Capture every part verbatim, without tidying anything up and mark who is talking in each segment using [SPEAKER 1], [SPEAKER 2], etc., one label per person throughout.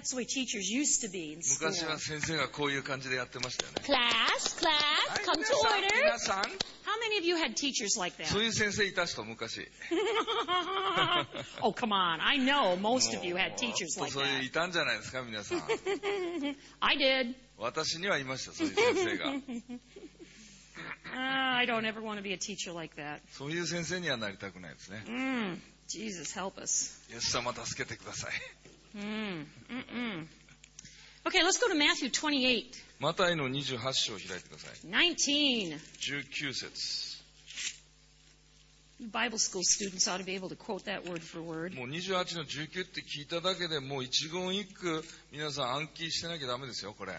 [SPEAKER 1] That's the way teachers used to be in school.
[SPEAKER 2] 昔は先生がこういう感じでやってましたよね。
[SPEAKER 1] Class, class,
[SPEAKER 2] はい、
[SPEAKER 1] come
[SPEAKER 2] 皆
[SPEAKER 1] to
[SPEAKER 2] さん、
[SPEAKER 1] order.
[SPEAKER 2] 皆さん、
[SPEAKER 1] How many of you had teachers like that?
[SPEAKER 2] そういう先生いた人、昔。
[SPEAKER 1] Oh, come on. I know most of you had teachers
[SPEAKER 2] もう
[SPEAKER 1] like
[SPEAKER 2] そういうい
[SPEAKER 1] that.
[SPEAKER 2] たんじゃないですか、皆さん。
[SPEAKER 1] I did.
[SPEAKER 2] 私にはいました、そういう先生が。
[SPEAKER 1] Uh, I don't ever want to be a teacher like that.
[SPEAKER 2] そういう先生にはなりたくないですね。
[SPEAKER 1] Mm, Jesus, help us.
[SPEAKER 2] イエス様助けてください。
[SPEAKER 1] Mm, mm-mm. Okay, let's go to Matthew twenty-eight.
[SPEAKER 2] マタイのにじゅうはち章を開いてください。
[SPEAKER 1] nineteen.
[SPEAKER 2] じゅうきゅう節。
[SPEAKER 1] You Bible school students ought to be able to quote that word for word.
[SPEAKER 2] もうにじゅうはちのじゅうきゅうって聞いただけでもう一言一句皆さん暗記してなきゃダメですよ、これ。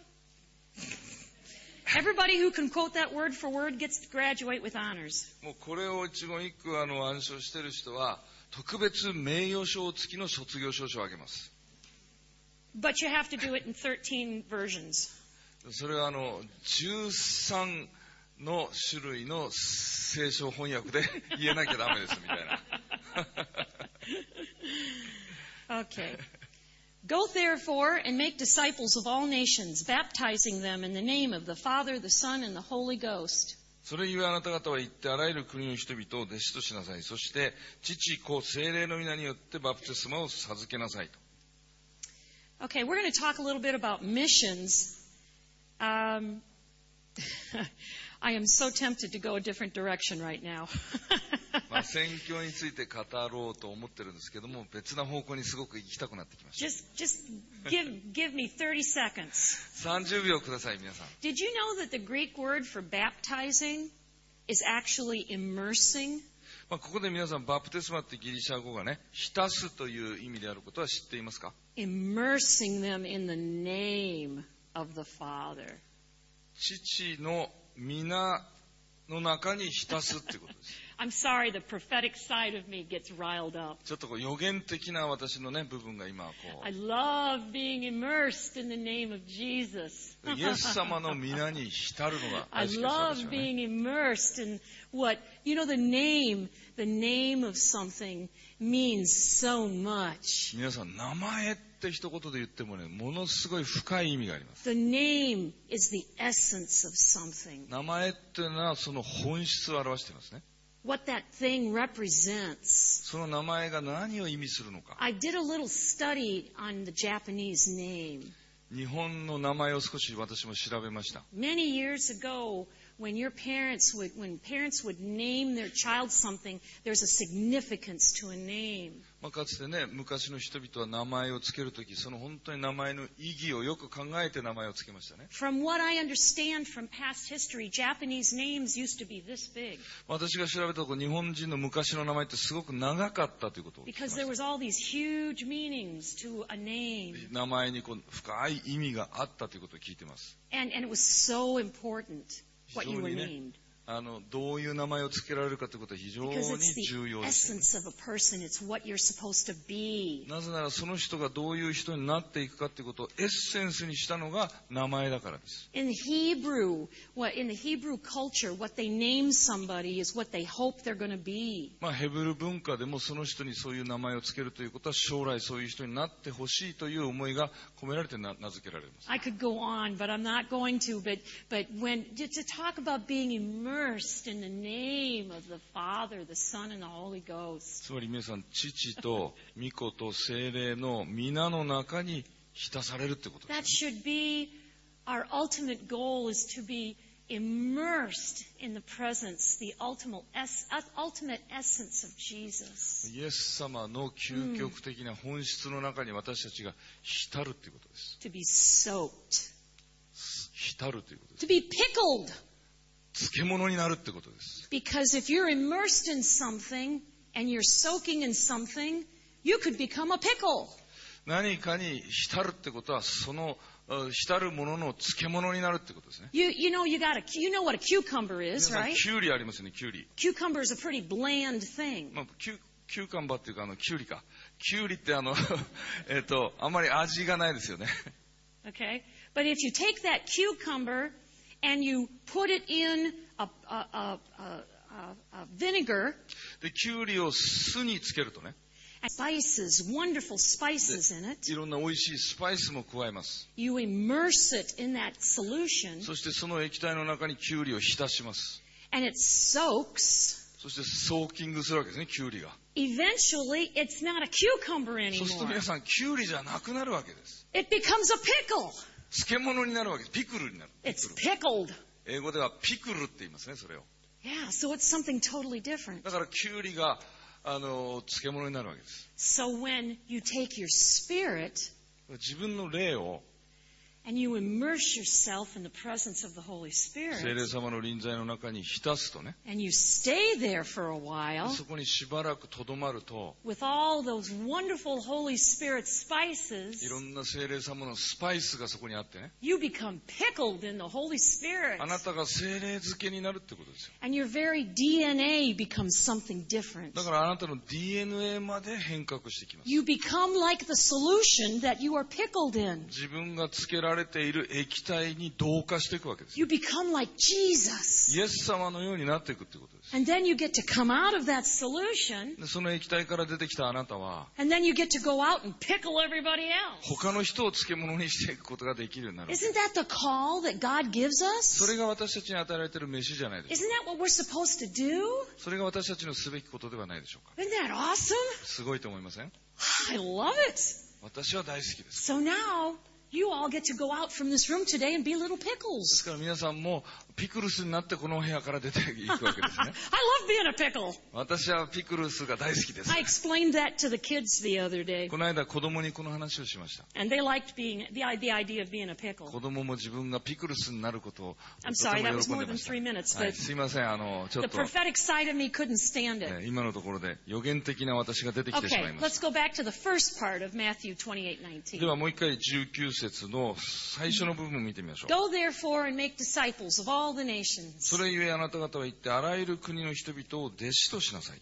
[SPEAKER 1] Everybody who can quote that word for word gets to graduate with honors.
[SPEAKER 2] もうこれを一言一句あの暗唱してる人は特別名誉賞付きの卒業証書をあげます。
[SPEAKER 1] But you have to do it in thirteen versions.
[SPEAKER 2] それはあのじゅうさんの種類の聖書翻訳で言えなきゃダメですみたいな。
[SPEAKER 1] Okay. Go therefore and make disciples of all nations, baptizing them in the name of the Father, the Son, and the Holy Ghost.
[SPEAKER 2] それゆえあなた方は行ってあらゆる国の人々を弟子としなさい。そして父子聖霊の皆によってバプテスマを授けなさいと。
[SPEAKER 1] Okay, we're going to talk a little bit about missions. Um, I am so tempted to go a different direction right now.
[SPEAKER 2] まあ宣教について語ろうと思ってるんですけども、別な方向にすごく行きたくなってきました。
[SPEAKER 1] Just, just give, give me thirty seconds.
[SPEAKER 2] さんじゅうびょうください、皆さん。
[SPEAKER 1] Did you know that the Greek word for baptizing is actually immersing?
[SPEAKER 2] まあ、ここで皆さん、バプテスマってギリシャ語がね、浸すという意味であることは知っていますか？
[SPEAKER 1] Immersing them in the name of the Father.
[SPEAKER 2] 父の皆の中に浸すっていうことです。
[SPEAKER 1] I'm sorry, the prophetic side of me gets riled up.
[SPEAKER 2] ちょっとこう予言的な私のね、部分が今こ
[SPEAKER 1] I love being immersed in the name of Jesus.
[SPEAKER 2] う、イエス様の皆に浸るのが
[SPEAKER 1] I
[SPEAKER 2] 大好きです、
[SPEAKER 1] love
[SPEAKER 2] 私はね。
[SPEAKER 1] being immersed in what, you know, the name, the name of something means so much.
[SPEAKER 2] 皆さん、名前って一言で言ってもね、ものすごい深い意味があります。
[SPEAKER 1] The name is the essence of something.
[SPEAKER 2] 名前っていうのはその本質を表していますね。
[SPEAKER 1] What that thing represents.
[SPEAKER 2] その名前が何を意味するのか。
[SPEAKER 1] I did a little study on the Japanese name.
[SPEAKER 2] 日本の名前を少し私も調べました。
[SPEAKER 1] Many years ago, when your parents would, when parents would name their child something, there's a significance to a name.
[SPEAKER 2] まあ、かつてね、昔の人々は名前をつけるとき、その本当に名前の意義をよく考えて名前をつけましたね。
[SPEAKER 1] From what I understand from past history, Japanese names used to be this big
[SPEAKER 2] 私が調べたところ、日本人の昔の名前ってすごく長かったということを聞きま
[SPEAKER 1] because
[SPEAKER 2] し
[SPEAKER 1] there
[SPEAKER 2] た。
[SPEAKER 1] was all these huge meanings to a name.
[SPEAKER 2] 名前にこう深い意味があったということを聞いています。
[SPEAKER 1] And, and it was so important what you were
[SPEAKER 2] 非常にね、
[SPEAKER 1] named.
[SPEAKER 2] あのどういう名前をつけられるかということは非常
[SPEAKER 1] Because
[SPEAKER 2] に
[SPEAKER 1] it's
[SPEAKER 2] 重
[SPEAKER 1] the
[SPEAKER 2] 要ですよね。
[SPEAKER 1] essence of a person. It's what you're supposed to be.
[SPEAKER 2] なぜならその人がどういう人になっていくかということをエッセンスにしたのが名前だからです。
[SPEAKER 1] In Hebrew, what in the Hebrew culture, what they name somebody is what they hope they're going to be.
[SPEAKER 2] まあ、ヘブル文化でもその人にそういう名前をつけるということは将来そういう人になってほしいという思いが込められて 名, 名付けられます。
[SPEAKER 1] I could go on, but I'm not going to. But but when to, to talk about being immersed in the name of the Father, the Son, and the Holy Ghost.
[SPEAKER 2] つまり皆さん、父と御子と聖霊の皆の中に浸されるということで
[SPEAKER 1] That
[SPEAKER 2] す。
[SPEAKER 1] should be our ultimate goal: is to be immersed in the presence, the ultimate es- ultimate essence of Jesus.
[SPEAKER 2] イエス様の究極的な本質の中に私たちが浸るということです。
[SPEAKER 1] To be soaked,
[SPEAKER 2] 浸るということです。
[SPEAKER 1] to be pickled.
[SPEAKER 2] 漬物になるってことです。
[SPEAKER 1] Because if you're immersed in something and you're soaking in something, you could become a pickle.
[SPEAKER 2] 何かに浸るってことは、そのuh, 浸るものの漬物になるってことですね。
[SPEAKER 1] You you know you got a you know what a cucumber
[SPEAKER 2] 皆
[SPEAKER 1] is,
[SPEAKER 2] さん、
[SPEAKER 1] right?
[SPEAKER 2] キュウリありますよね、キュウリ。
[SPEAKER 1] Cucumber is a pretty bland thing.
[SPEAKER 2] まあ、キュキューカンバーっていうか、あの、キュウリか。キュウリってあの、えっと、あんまり味がないですよね。
[SPEAKER 1] Okay? But if you take that cucumber and you put it in a, a, a, a, a, a vinegar,
[SPEAKER 2] で、キュウリを酢につけるとね。
[SPEAKER 1] spices, wonderful spices in it.
[SPEAKER 2] いろんな美味しいスパイスも加えます。
[SPEAKER 1] You immerse it in that solution,
[SPEAKER 2] そしてその液体の中にキュウリを浸します。
[SPEAKER 1] and it soaks.
[SPEAKER 2] そしてソーキングするわけですね、キュウリが。
[SPEAKER 1] Eventually, it's not a cucumber
[SPEAKER 2] そうすると
[SPEAKER 1] anymore.
[SPEAKER 2] 皆さん、キュウリじゃなくなるわけです。
[SPEAKER 1] It becomes a pickle.
[SPEAKER 2] 漬物になるわけです。ピクルになる。ピ
[SPEAKER 1] It's
[SPEAKER 2] クル
[SPEAKER 1] pickled.
[SPEAKER 2] 英語ではピクルって言いますね、それを。
[SPEAKER 1] Yeah, so it's something totally different.
[SPEAKER 2] だからキュウリが、あの、漬物になるわけです。
[SPEAKER 1] So when you take your spirit
[SPEAKER 2] 自分の霊を
[SPEAKER 1] and you immerse yourself in the presence of the Holy
[SPEAKER 2] 聖
[SPEAKER 1] Spirit
[SPEAKER 2] 霊様の臨在の中に浸すとね、
[SPEAKER 1] and you stay there for a while
[SPEAKER 2] そこにしばらくとどまると、
[SPEAKER 1] with all those wonderful Holy Spirit spices,
[SPEAKER 2] いろんな聖霊様のスパイスがそこにあってね、
[SPEAKER 1] you become pickled in the Holy Spirit.
[SPEAKER 2] あなたが聖霊漬けになるってことですよ。
[SPEAKER 1] And your very D N A becomes something different.
[SPEAKER 2] だからあなたの ディーエヌエー まで変革してきます。
[SPEAKER 1] You become like the solution that you are pickled in.
[SPEAKER 2] 自分が漬けられている液体に同化していくわけです。
[SPEAKER 1] You become like Jesus.
[SPEAKER 2] イエス様のようになっていくってことです。
[SPEAKER 1] And then you get to come out of that solution,
[SPEAKER 2] でその液体から出てきたあなたは、
[SPEAKER 1] and then you get to go out and pickle everybody else.
[SPEAKER 2] 他の人を漬物にしていくことができるようになる。
[SPEAKER 1] Isn't that the call that God gives
[SPEAKER 2] そ
[SPEAKER 1] us?
[SPEAKER 2] れが私たちに与えられている飯じゃないでしょう
[SPEAKER 1] Isn't that what we're supposed to do?
[SPEAKER 2] か。それが私たちのすべきことではないでしょうか。
[SPEAKER 1] Isn't that awesome?
[SPEAKER 2] すごいと思いません？
[SPEAKER 1] I love it.
[SPEAKER 2] 私は大好きです。
[SPEAKER 1] So now you all get to go out from this room today and be little
[SPEAKER 2] です
[SPEAKER 1] pickles.
[SPEAKER 2] から皆さんもピクルスになってこの部屋から出ていくわけですね。
[SPEAKER 1] I love being a pickle.
[SPEAKER 2] 私はピクルスが大好きです。
[SPEAKER 1] I explained that to the kids the other day,
[SPEAKER 2] この間子供にこの話をしました。
[SPEAKER 1] and they liked being the, the idea of being a pickle.
[SPEAKER 2] 子供も自分がピクルスになることを
[SPEAKER 1] I'm
[SPEAKER 2] と
[SPEAKER 1] sorry,
[SPEAKER 2] て
[SPEAKER 1] that
[SPEAKER 2] も
[SPEAKER 1] was
[SPEAKER 2] 喜ん
[SPEAKER 1] more
[SPEAKER 2] で
[SPEAKER 1] than
[SPEAKER 2] ました。
[SPEAKER 1] three minutes,
[SPEAKER 2] はい、
[SPEAKER 1] but
[SPEAKER 2] すいません、あのちょっ
[SPEAKER 1] the
[SPEAKER 2] と、
[SPEAKER 1] prophetic side of me couldn't stand it.
[SPEAKER 2] ね今のところで予言的な私が出てきてしまい
[SPEAKER 1] Okay,
[SPEAKER 2] ま
[SPEAKER 1] let's
[SPEAKER 2] し
[SPEAKER 1] go back to the first part of Matthew twenty-eight
[SPEAKER 2] た。
[SPEAKER 1] nineteen.
[SPEAKER 2] ではもう一回じゅうきゅう節の最初の部分を見てみましょう。
[SPEAKER 1] Go therefore and make disciples of all the nations.
[SPEAKER 2] それゆえあなた方は言ってあらゆる国の人々を弟子としなさいと。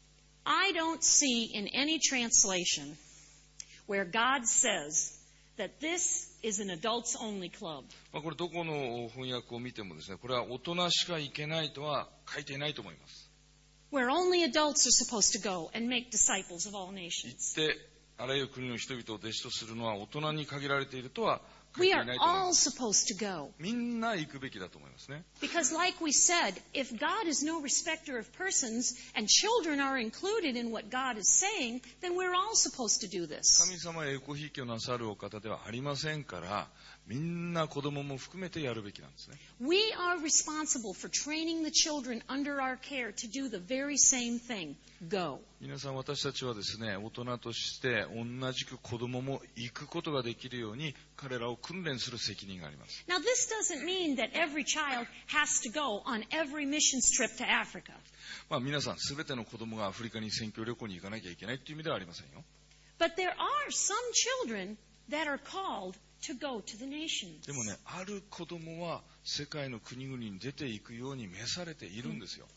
[SPEAKER 1] I don't see in any translation where God says that this is an adults only club.
[SPEAKER 2] まあ、これどこの翻訳を見てもですね、これは大人しか行けないとは書いていないと思います。
[SPEAKER 1] Where only adults are supposed to go and make disciples of all
[SPEAKER 2] 行
[SPEAKER 1] nations.
[SPEAKER 2] ってあらゆる国の人々を弟子とするのは大人に限られているとは書い
[SPEAKER 1] We
[SPEAKER 2] てい
[SPEAKER 1] are
[SPEAKER 2] ないと思いま
[SPEAKER 1] all
[SPEAKER 2] す。
[SPEAKER 1] supposed to go.
[SPEAKER 2] みんな行くべきだと思いますね。
[SPEAKER 1] Because like we said, if God is no respecter of persons and children are included in what God is saying, then we're all supposed to do this.
[SPEAKER 2] 神様は栄光ひいきをなさるお方ではありませんから、みんな子供も含めてやるべきなんですね。
[SPEAKER 1] We are responsible for training the children under our care to do the very same thing. Go.
[SPEAKER 2] 皆さん私たちはですね、大人として同じく子供も行くことができるように彼らを訓練する責任があります。
[SPEAKER 1] Now, this doesn't mean that every child has to go on every missions trip to Africa.
[SPEAKER 2] まあ皆さんすべての子供がアフリカに宣教旅行に行かなきゃいけないっていう意味ではありませんよ。
[SPEAKER 1] But there are some children that are called to go to the nations.
[SPEAKER 2] でもね、ある子供は世界の国々に出ていくように召されているんですよ。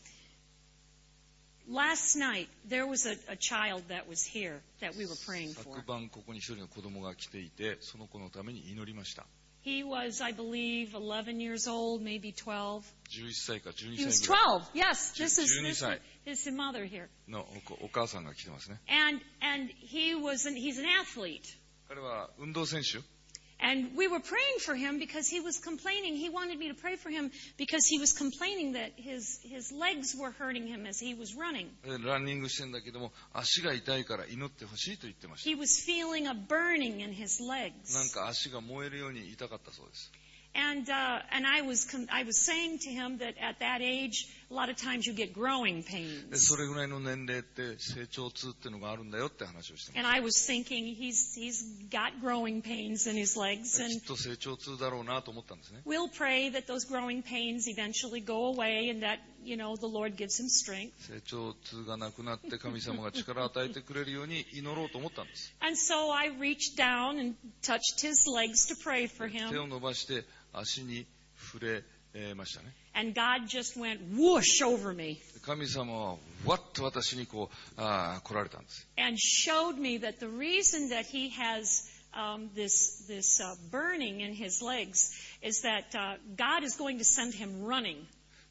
[SPEAKER 1] Last night, there was a, a child that was here that we were praying for.
[SPEAKER 2] 昨晩ここに一人の子供が来ていて、その子のために祈りました。
[SPEAKER 1] He was, I believe, eleven years old, maybe twelve.
[SPEAKER 2] じゅういっさいかじゅうに
[SPEAKER 1] He
[SPEAKER 2] 歳
[SPEAKER 1] was
[SPEAKER 2] ぐらい
[SPEAKER 1] twelve. Yes, this is, this
[SPEAKER 2] 12
[SPEAKER 1] is his mother here.
[SPEAKER 2] のお子お母さんが来てますね。
[SPEAKER 1] And and he was an, he's an athlete.
[SPEAKER 2] 彼は運動選手。
[SPEAKER 1] And we were praying for him because he was complaining. He wanted me to pray for him because he was complaining that his his legs were hurting him as he was running.
[SPEAKER 2] ランニングしてんだけども足が痛いから祈ってほしいと言ってました。
[SPEAKER 1] He was feeling a burning in his
[SPEAKER 2] なん
[SPEAKER 1] legs.
[SPEAKER 2] か足が燃えるように痛かったそうです。
[SPEAKER 1] And uh, and I was com- I was saying to him that at that age, a lot of times you get growing
[SPEAKER 2] で
[SPEAKER 1] pains.
[SPEAKER 2] それぐらいの年齢って成長痛っていうのがあるんだよって話をしてま
[SPEAKER 1] And I was thinking he's he's got growing pains in his legs,
[SPEAKER 2] す。き
[SPEAKER 1] and
[SPEAKER 2] っと成長痛だろうなと思ったんですね。
[SPEAKER 1] we'll pray that those growing pains eventually go away, and that you know the Lord gives him strength.
[SPEAKER 2] 成長痛がなくなって神様が力を与えてくれるように祈ろうと思ったんです。
[SPEAKER 1] And so I reached down and touched his legs to pray for
[SPEAKER 2] 手
[SPEAKER 1] him,
[SPEAKER 2] を伸ばして足に触れえーましたね。
[SPEAKER 1] and God just went whoosh over me
[SPEAKER 2] 神様はわっと私にこうあー来られたんです。
[SPEAKER 1] and showed me that the reason that he has um, this this uh, burning in his legs is that uh, God is going to send him running.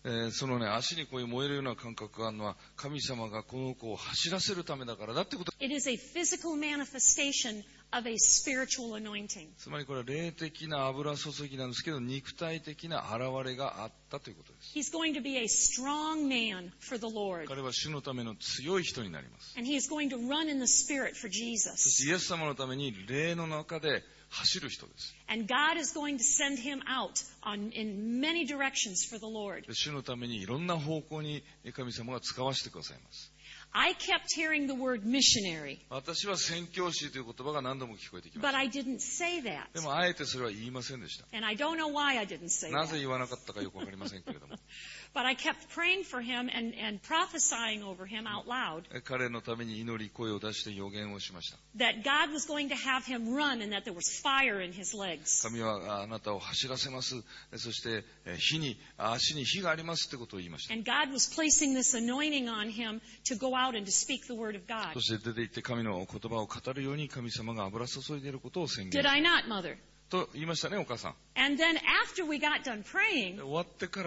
[SPEAKER 2] えーそのね、足にこういう燃えるような感覚があるのは、神様がこの子を走らせるためだからだってこと。
[SPEAKER 1] It is a physical manifestation of a spiritual anointing.
[SPEAKER 2] つまりこれは霊的な油注ぎなんですけど、肉体的な現れがあったということです。
[SPEAKER 1] He's going to be a strong man for the Lord.
[SPEAKER 2] 彼は主のための強い人になります。
[SPEAKER 1] And he is going to run in the Spirit for
[SPEAKER 2] そし
[SPEAKER 1] Jesus.
[SPEAKER 2] てイエス様のために霊の中で走る人です。
[SPEAKER 1] And God is going to send him out on, in many directions for the Lord.
[SPEAKER 2] で主のためにいろんな方向に神様が使わせてくださいます。
[SPEAKER 1] I kept hearing the word missionary,
[SPEAKER 2] 私は宣教師という言葉が何度も聞こえてきま
[SPEAKER 1] but
[SPEAKER 2] した。
[SPEAKER 1] I didn't say that.
[SPEAKER 2] でもあえてそれは言いませんでした。
[SPEAKER 1] And I don't know why I didn't say
[SPEAKER 2] なぜ
[SPEAKER 1] that.
[SPEAKER 2] 言わなかったかよくわかりませんけれども。
[SPEAKER 1] But I kept praying for him and, and prophesying over him out loud
[SPEAKER 2] 彼のために祈り声を出して予言をしました。
[SPEAKER 1] that God was going to have him run and that there was fire in his legs.
[SPEAKER 2] 神はあなたを走らせます。そしてえ火に、足に火がありますってことを言いました。
[SPEAKER 1] And God was placing this anointing on him to go out and to speak the word of God.
[SPEAKER 2] そして出て行って神の言葉を語るように神様が油注いでいることを宣言
[SPEAKER 1] Did I not, Mother?
[SPEAKER 2] と言いましたね、お母さん。
[SPEAKER 1] And then after we got done
[SPEAKER 2] で
[SPEAKER 1] praying,
[SPEAKER 2] 終わってから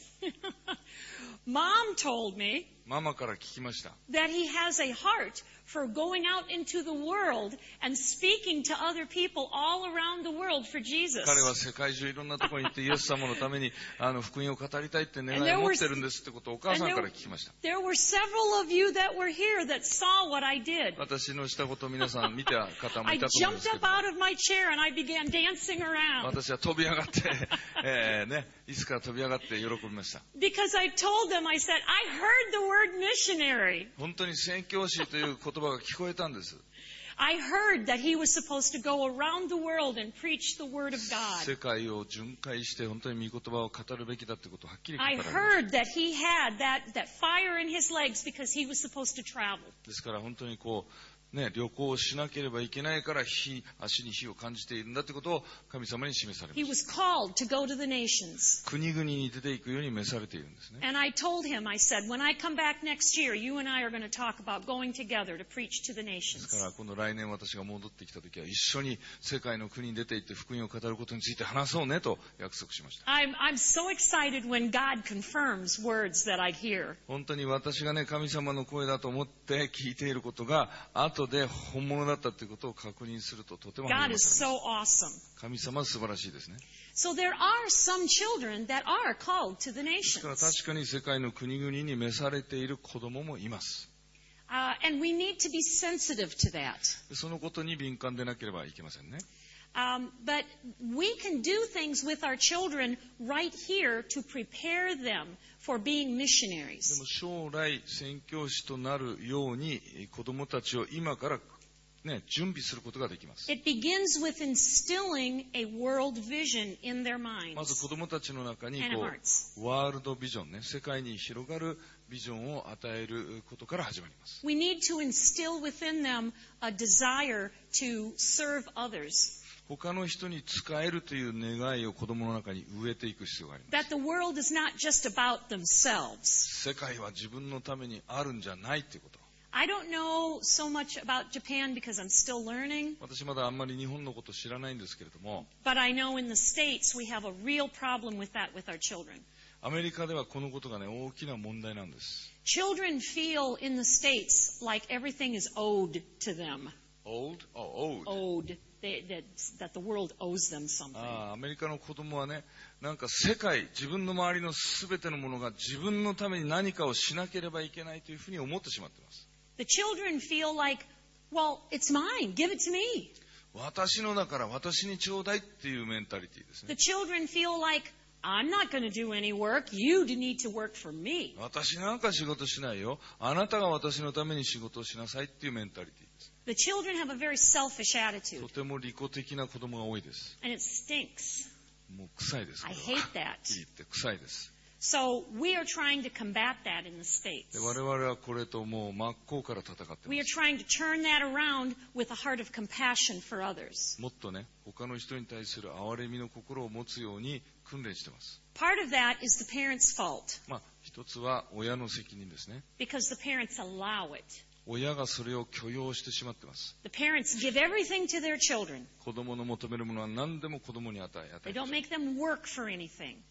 [SPEAKER 1] Mom told me
[SPEAKER 2] ママから聞きました。
[SPEAKER 1] that he has a heart for going out into the world and speaking to other people all around the world for Jesus.
[SPEAKER 2] 彼は世界中いろんなところに行ってイエス様のためにあの福音を語りたいって願いを持ってるんですってことをお母さんから聞きました。
[SPEAKER 1] There were several of you that were here that saw what I did.
[SPEAKER 2] 私のしたことを皆さん見た方も
[SPEAKER 1] I
[SPEAKER 2] いたと思うんで
[SPEAKER 1] jumped
[SPEAKER 2] すけ
[SPEAKER 1] up
[SPEAKER 2] ど、
[SPEAKER 1] out of my chair and I began dancing around
[SPEAKER 2] 私は飛び上がって、えーね、椅子から飛び上がって喜びました。
[SPEAKER 1] because I told them, I said, I heard the word missionary.
[SPEAKER 2] 本当に宣教師という言葉が聞こえたんです。
[SPEAKER 1] I heard that he was supposed to go around the world and preach the word of
[SPEAKER 2] 世
[SPEAKER 1] God.
[SPEAKER 2] 界を巡回して本当に御言葉を語るべきだということをはっきり語ら
[SPEAKER 1] I
[SPEAKER 2] れました。
[SPEAKER 1] heard that he had that, that fire in his legs because he was supposed to travel.
[SPEAKER 2] ですから本当にこう、ね、旅行をしなければいけないから火、足に火を感じているんだということを神様に示されま
[SPEAKER 1] He
[SPEAKER 2] した。
[SPEAKER 1] was called to go to the nations.
[SPEAKER 2] 国々に出ていくように召されているんですね。
[SPEAKER 1] And I told him, I said, when I come back next year, you and I are going to talk about going together to preach to the
[SPEAKER 2] ですか
[SPEAKER 1] nations.
[SPEAKER 2] ら今度来年私が戻ってきた時は一緒に世界の国に出て行って福音を語ることについて話そうねと約束しました。
[SPEAKER 1] I'm, I'm so excited when God confirms words that I hear.
[SPEAKER 2] 本当に私がね、神様の声だと思って聞いていることが後で本物だったということを確認するととても励
[SPEAKER 1] God
[SPEAKER 2] ま
[SPEAKER 1] is
[SPEAKER 2] され
[SPEAKER 1] so
[SPEAKER 2] ます。
[SPEAKER 1] awesome.
[SPEAKER 2] 神様は素晴らしいですね。
[SPEAKER 1] So there are some children that are called to the
[SPEAKER 2] ですから
[SPEAKER 1] nations.
[SPEAKER 2] 確かに世界の国々に召されている子供もいます。
[SPEAKER 1] Uh, and we need to be sensitive to that.
[SPEAKER 2] でそのことに敏感でなければいけませんね。
[SPEAKER 1] Um, but we can do things with our children right here to prepare them for being
[SPEAKER 2] で
[SPEAKER 1] missionaries.
[SPEAKER 2] も将来宣教師となるように子供たちを今からね、準備することができます。
[SPEAKER 1] It begins with instilling a world vision in their
[SPEAKER 2] まず
[SPEAKER 1] minds
[SPEAKER 2] 子供たちの中に
[SPEAKER 1] and
[SPEAKER 2] こ
[SPEAKER 1] hearts.
[SPEAKER 2] うワールドビジョンね、世界に広がるビジョンを与えることから始まります。
[SPEAKER 1] We need to instill within them a desire to serve others.
[SPEAKER 2] 他の人に仕えるという願いを子供の中に植えていく必要があります。
[SPEAKER 1] That the world is not just about themselves.
[SPEAKER 2] 世界は自分のためにあるんじゃないということ。
[SPEAKER 1] I don't know so much about Japan because I'm still learning,
[SPEAKER 2] 私まだあんまり日本のこと知らないんですけれども、
[SPEAKER 1] but I know in the States we have a real problem with that with our children.
[SPEAKER 2] アメリカではこのことがね、大きな問題なんです。
[SPEAKER 1] Children feel in the States like everything is owed to them.
[SPEAKER 2] Old? Oh, owed.
[SPEAKER 1] Owed. They, that, that the world owes them something.
[SPEAKER 2] ああ、アメリカの子供はね、なんか世界、自分の周りの全てのものが自分のために何かをしなければいけないというふうに思ってしまっています。
[SPEAKER 1] The children feel like, well, it's mine. Give it to me.
[SPEAKER 2] 私のだから私にちょうだいっていうメンタリティですね。
[SPEAKER 1] The children feel like, I'm not going to do any work. You need to work for me.
[SPEAKER 2] 私なんか仕事しないよ。あなたが私のために仕事をしなさいっていうメンタリティです。
[SPEAKER 1] The children have a very selfish
[SPEAKER 2] と
[SPEAKER 1] attitude,
[SPEAKER 2] ても利己的な子供が多いです。
[SPEAKER 1] and it stinks.
[SPEAKER 2] もう臭いです。こ
[SPEAKER 1] I
[SPEAKER 2] れは
[SPEAKER 1] hate that.
[SPEAKER 2] 言って臭いです。
[SPEAKER 1] So we are trying to combat that in the
[SPEAKER 2] で
[SPEAKER 1] States.
[SPEAKER 2] 我々はこれともう真っ向から戦ってま
[SPEAKER 1] We are
[SPEAKER 2] す。
[SPEAKER 1] trying to turn that around with a heart of compassion for others.
[SPEAKER 2] もっとね、他の人に対する憐れみの心を持つように訓練してます。
[SPEAKER 1] Part of that is the parents' fault
[SPEAKER 2] まあ、一つは親の責任ですね。
[SPEAKER 1] because the parents allow it.
[SPEAKER 2] 親がそれを許容してしまってます。
[SPEAKER 1] The parents give everything to their children.
[SPEAKER 2] 子供の求めるものは何でも子供に与え、与
[SPEAKER 1] They
[SPEAKER 2] え
[SPEAKER 1] don't make them work for anything.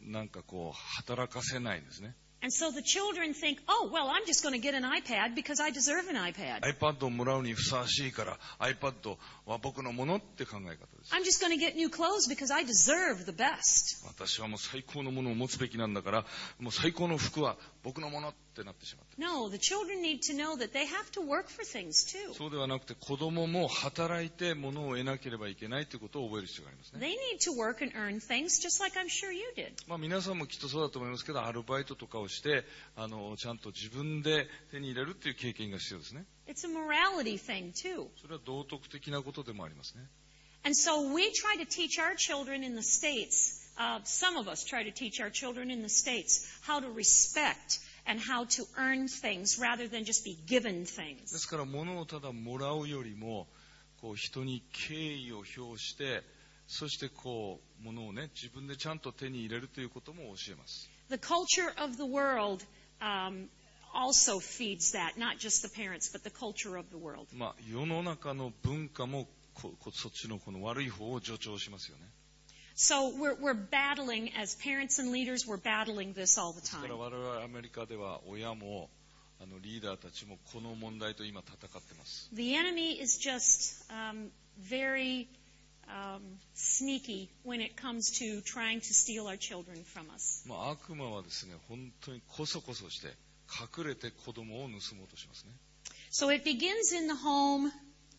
[SPEAKER 2] なんかこう働かせないんですね。
[SPEAKER 1] And so the children think, oh, well, I'm just going to get an iPad because I deserve an iPad.
[SPEAKER 2] iPad をもらうにふさわしいから iPad は僕のものって考え方です。
[SPEAKER 1] I'm just going to get new clothes because I deserve the best.
[SPEAKER 2] 私はもう最高のものを持つべきなんだから、もう最高の服は僕のものってなってしまって。
[SPEAKER 1] No, the children need to know that they have to work for things too.
[SPEAKER 2] そうではなくて、子供も働いて物を得なければいけないということを覚える必要がありますね。
[SPEAKER 1] They need to work and earn things just like I'm sure you did.
[SPEAKER 2] まあ皆さんもきっとそうだと思いますけど、アルバイトとかをして、あのちゃんと自分で手に入れるっていう経験が必要ですね。
[SPEAKER 1] It's a morality thing too.
[SPEAKER 2] それは道徳的なことでもありますね。
[SPEAKER 1] And so we try to teach our children in the States, uh, some of us try to teach our children in the States how to respect and how to earn things rather than just be given
[SPEAKER 2] で
[SPEAKER 1] things.
[SPEAKER 2] すから物をただもらうよりも、こう人に敬意を表して、そしてこう物をね、自分でちゃんと手に入れるということも教えます。
[SPEAKER 1] The culture of the world um, also feeds that, not just the parents, but the culture of the world.
[SPEAKER 2] まあ世の中の文化もここそっちのこの悪い方を助長しますよね。
[SPEAKER 1] So we're, we're battling, as parents and leaders, we're battling this all the
[SPEAKER 2] ですから
[SPEAKER 1] time.
[SPEAKER 2] 我々アメリカでは親もあのリーダーたちもこの問題と今戦ってます。
[SPEAKER 1] The enemy is just um, very um, sneaky when it comes to trying to steal our children from us.
[SPEAKER 2] まあ悪魔はですね、本当にこそこそして隠れて子供を盗もうとしますね。
[SPEAKER 1] So it begins in the home.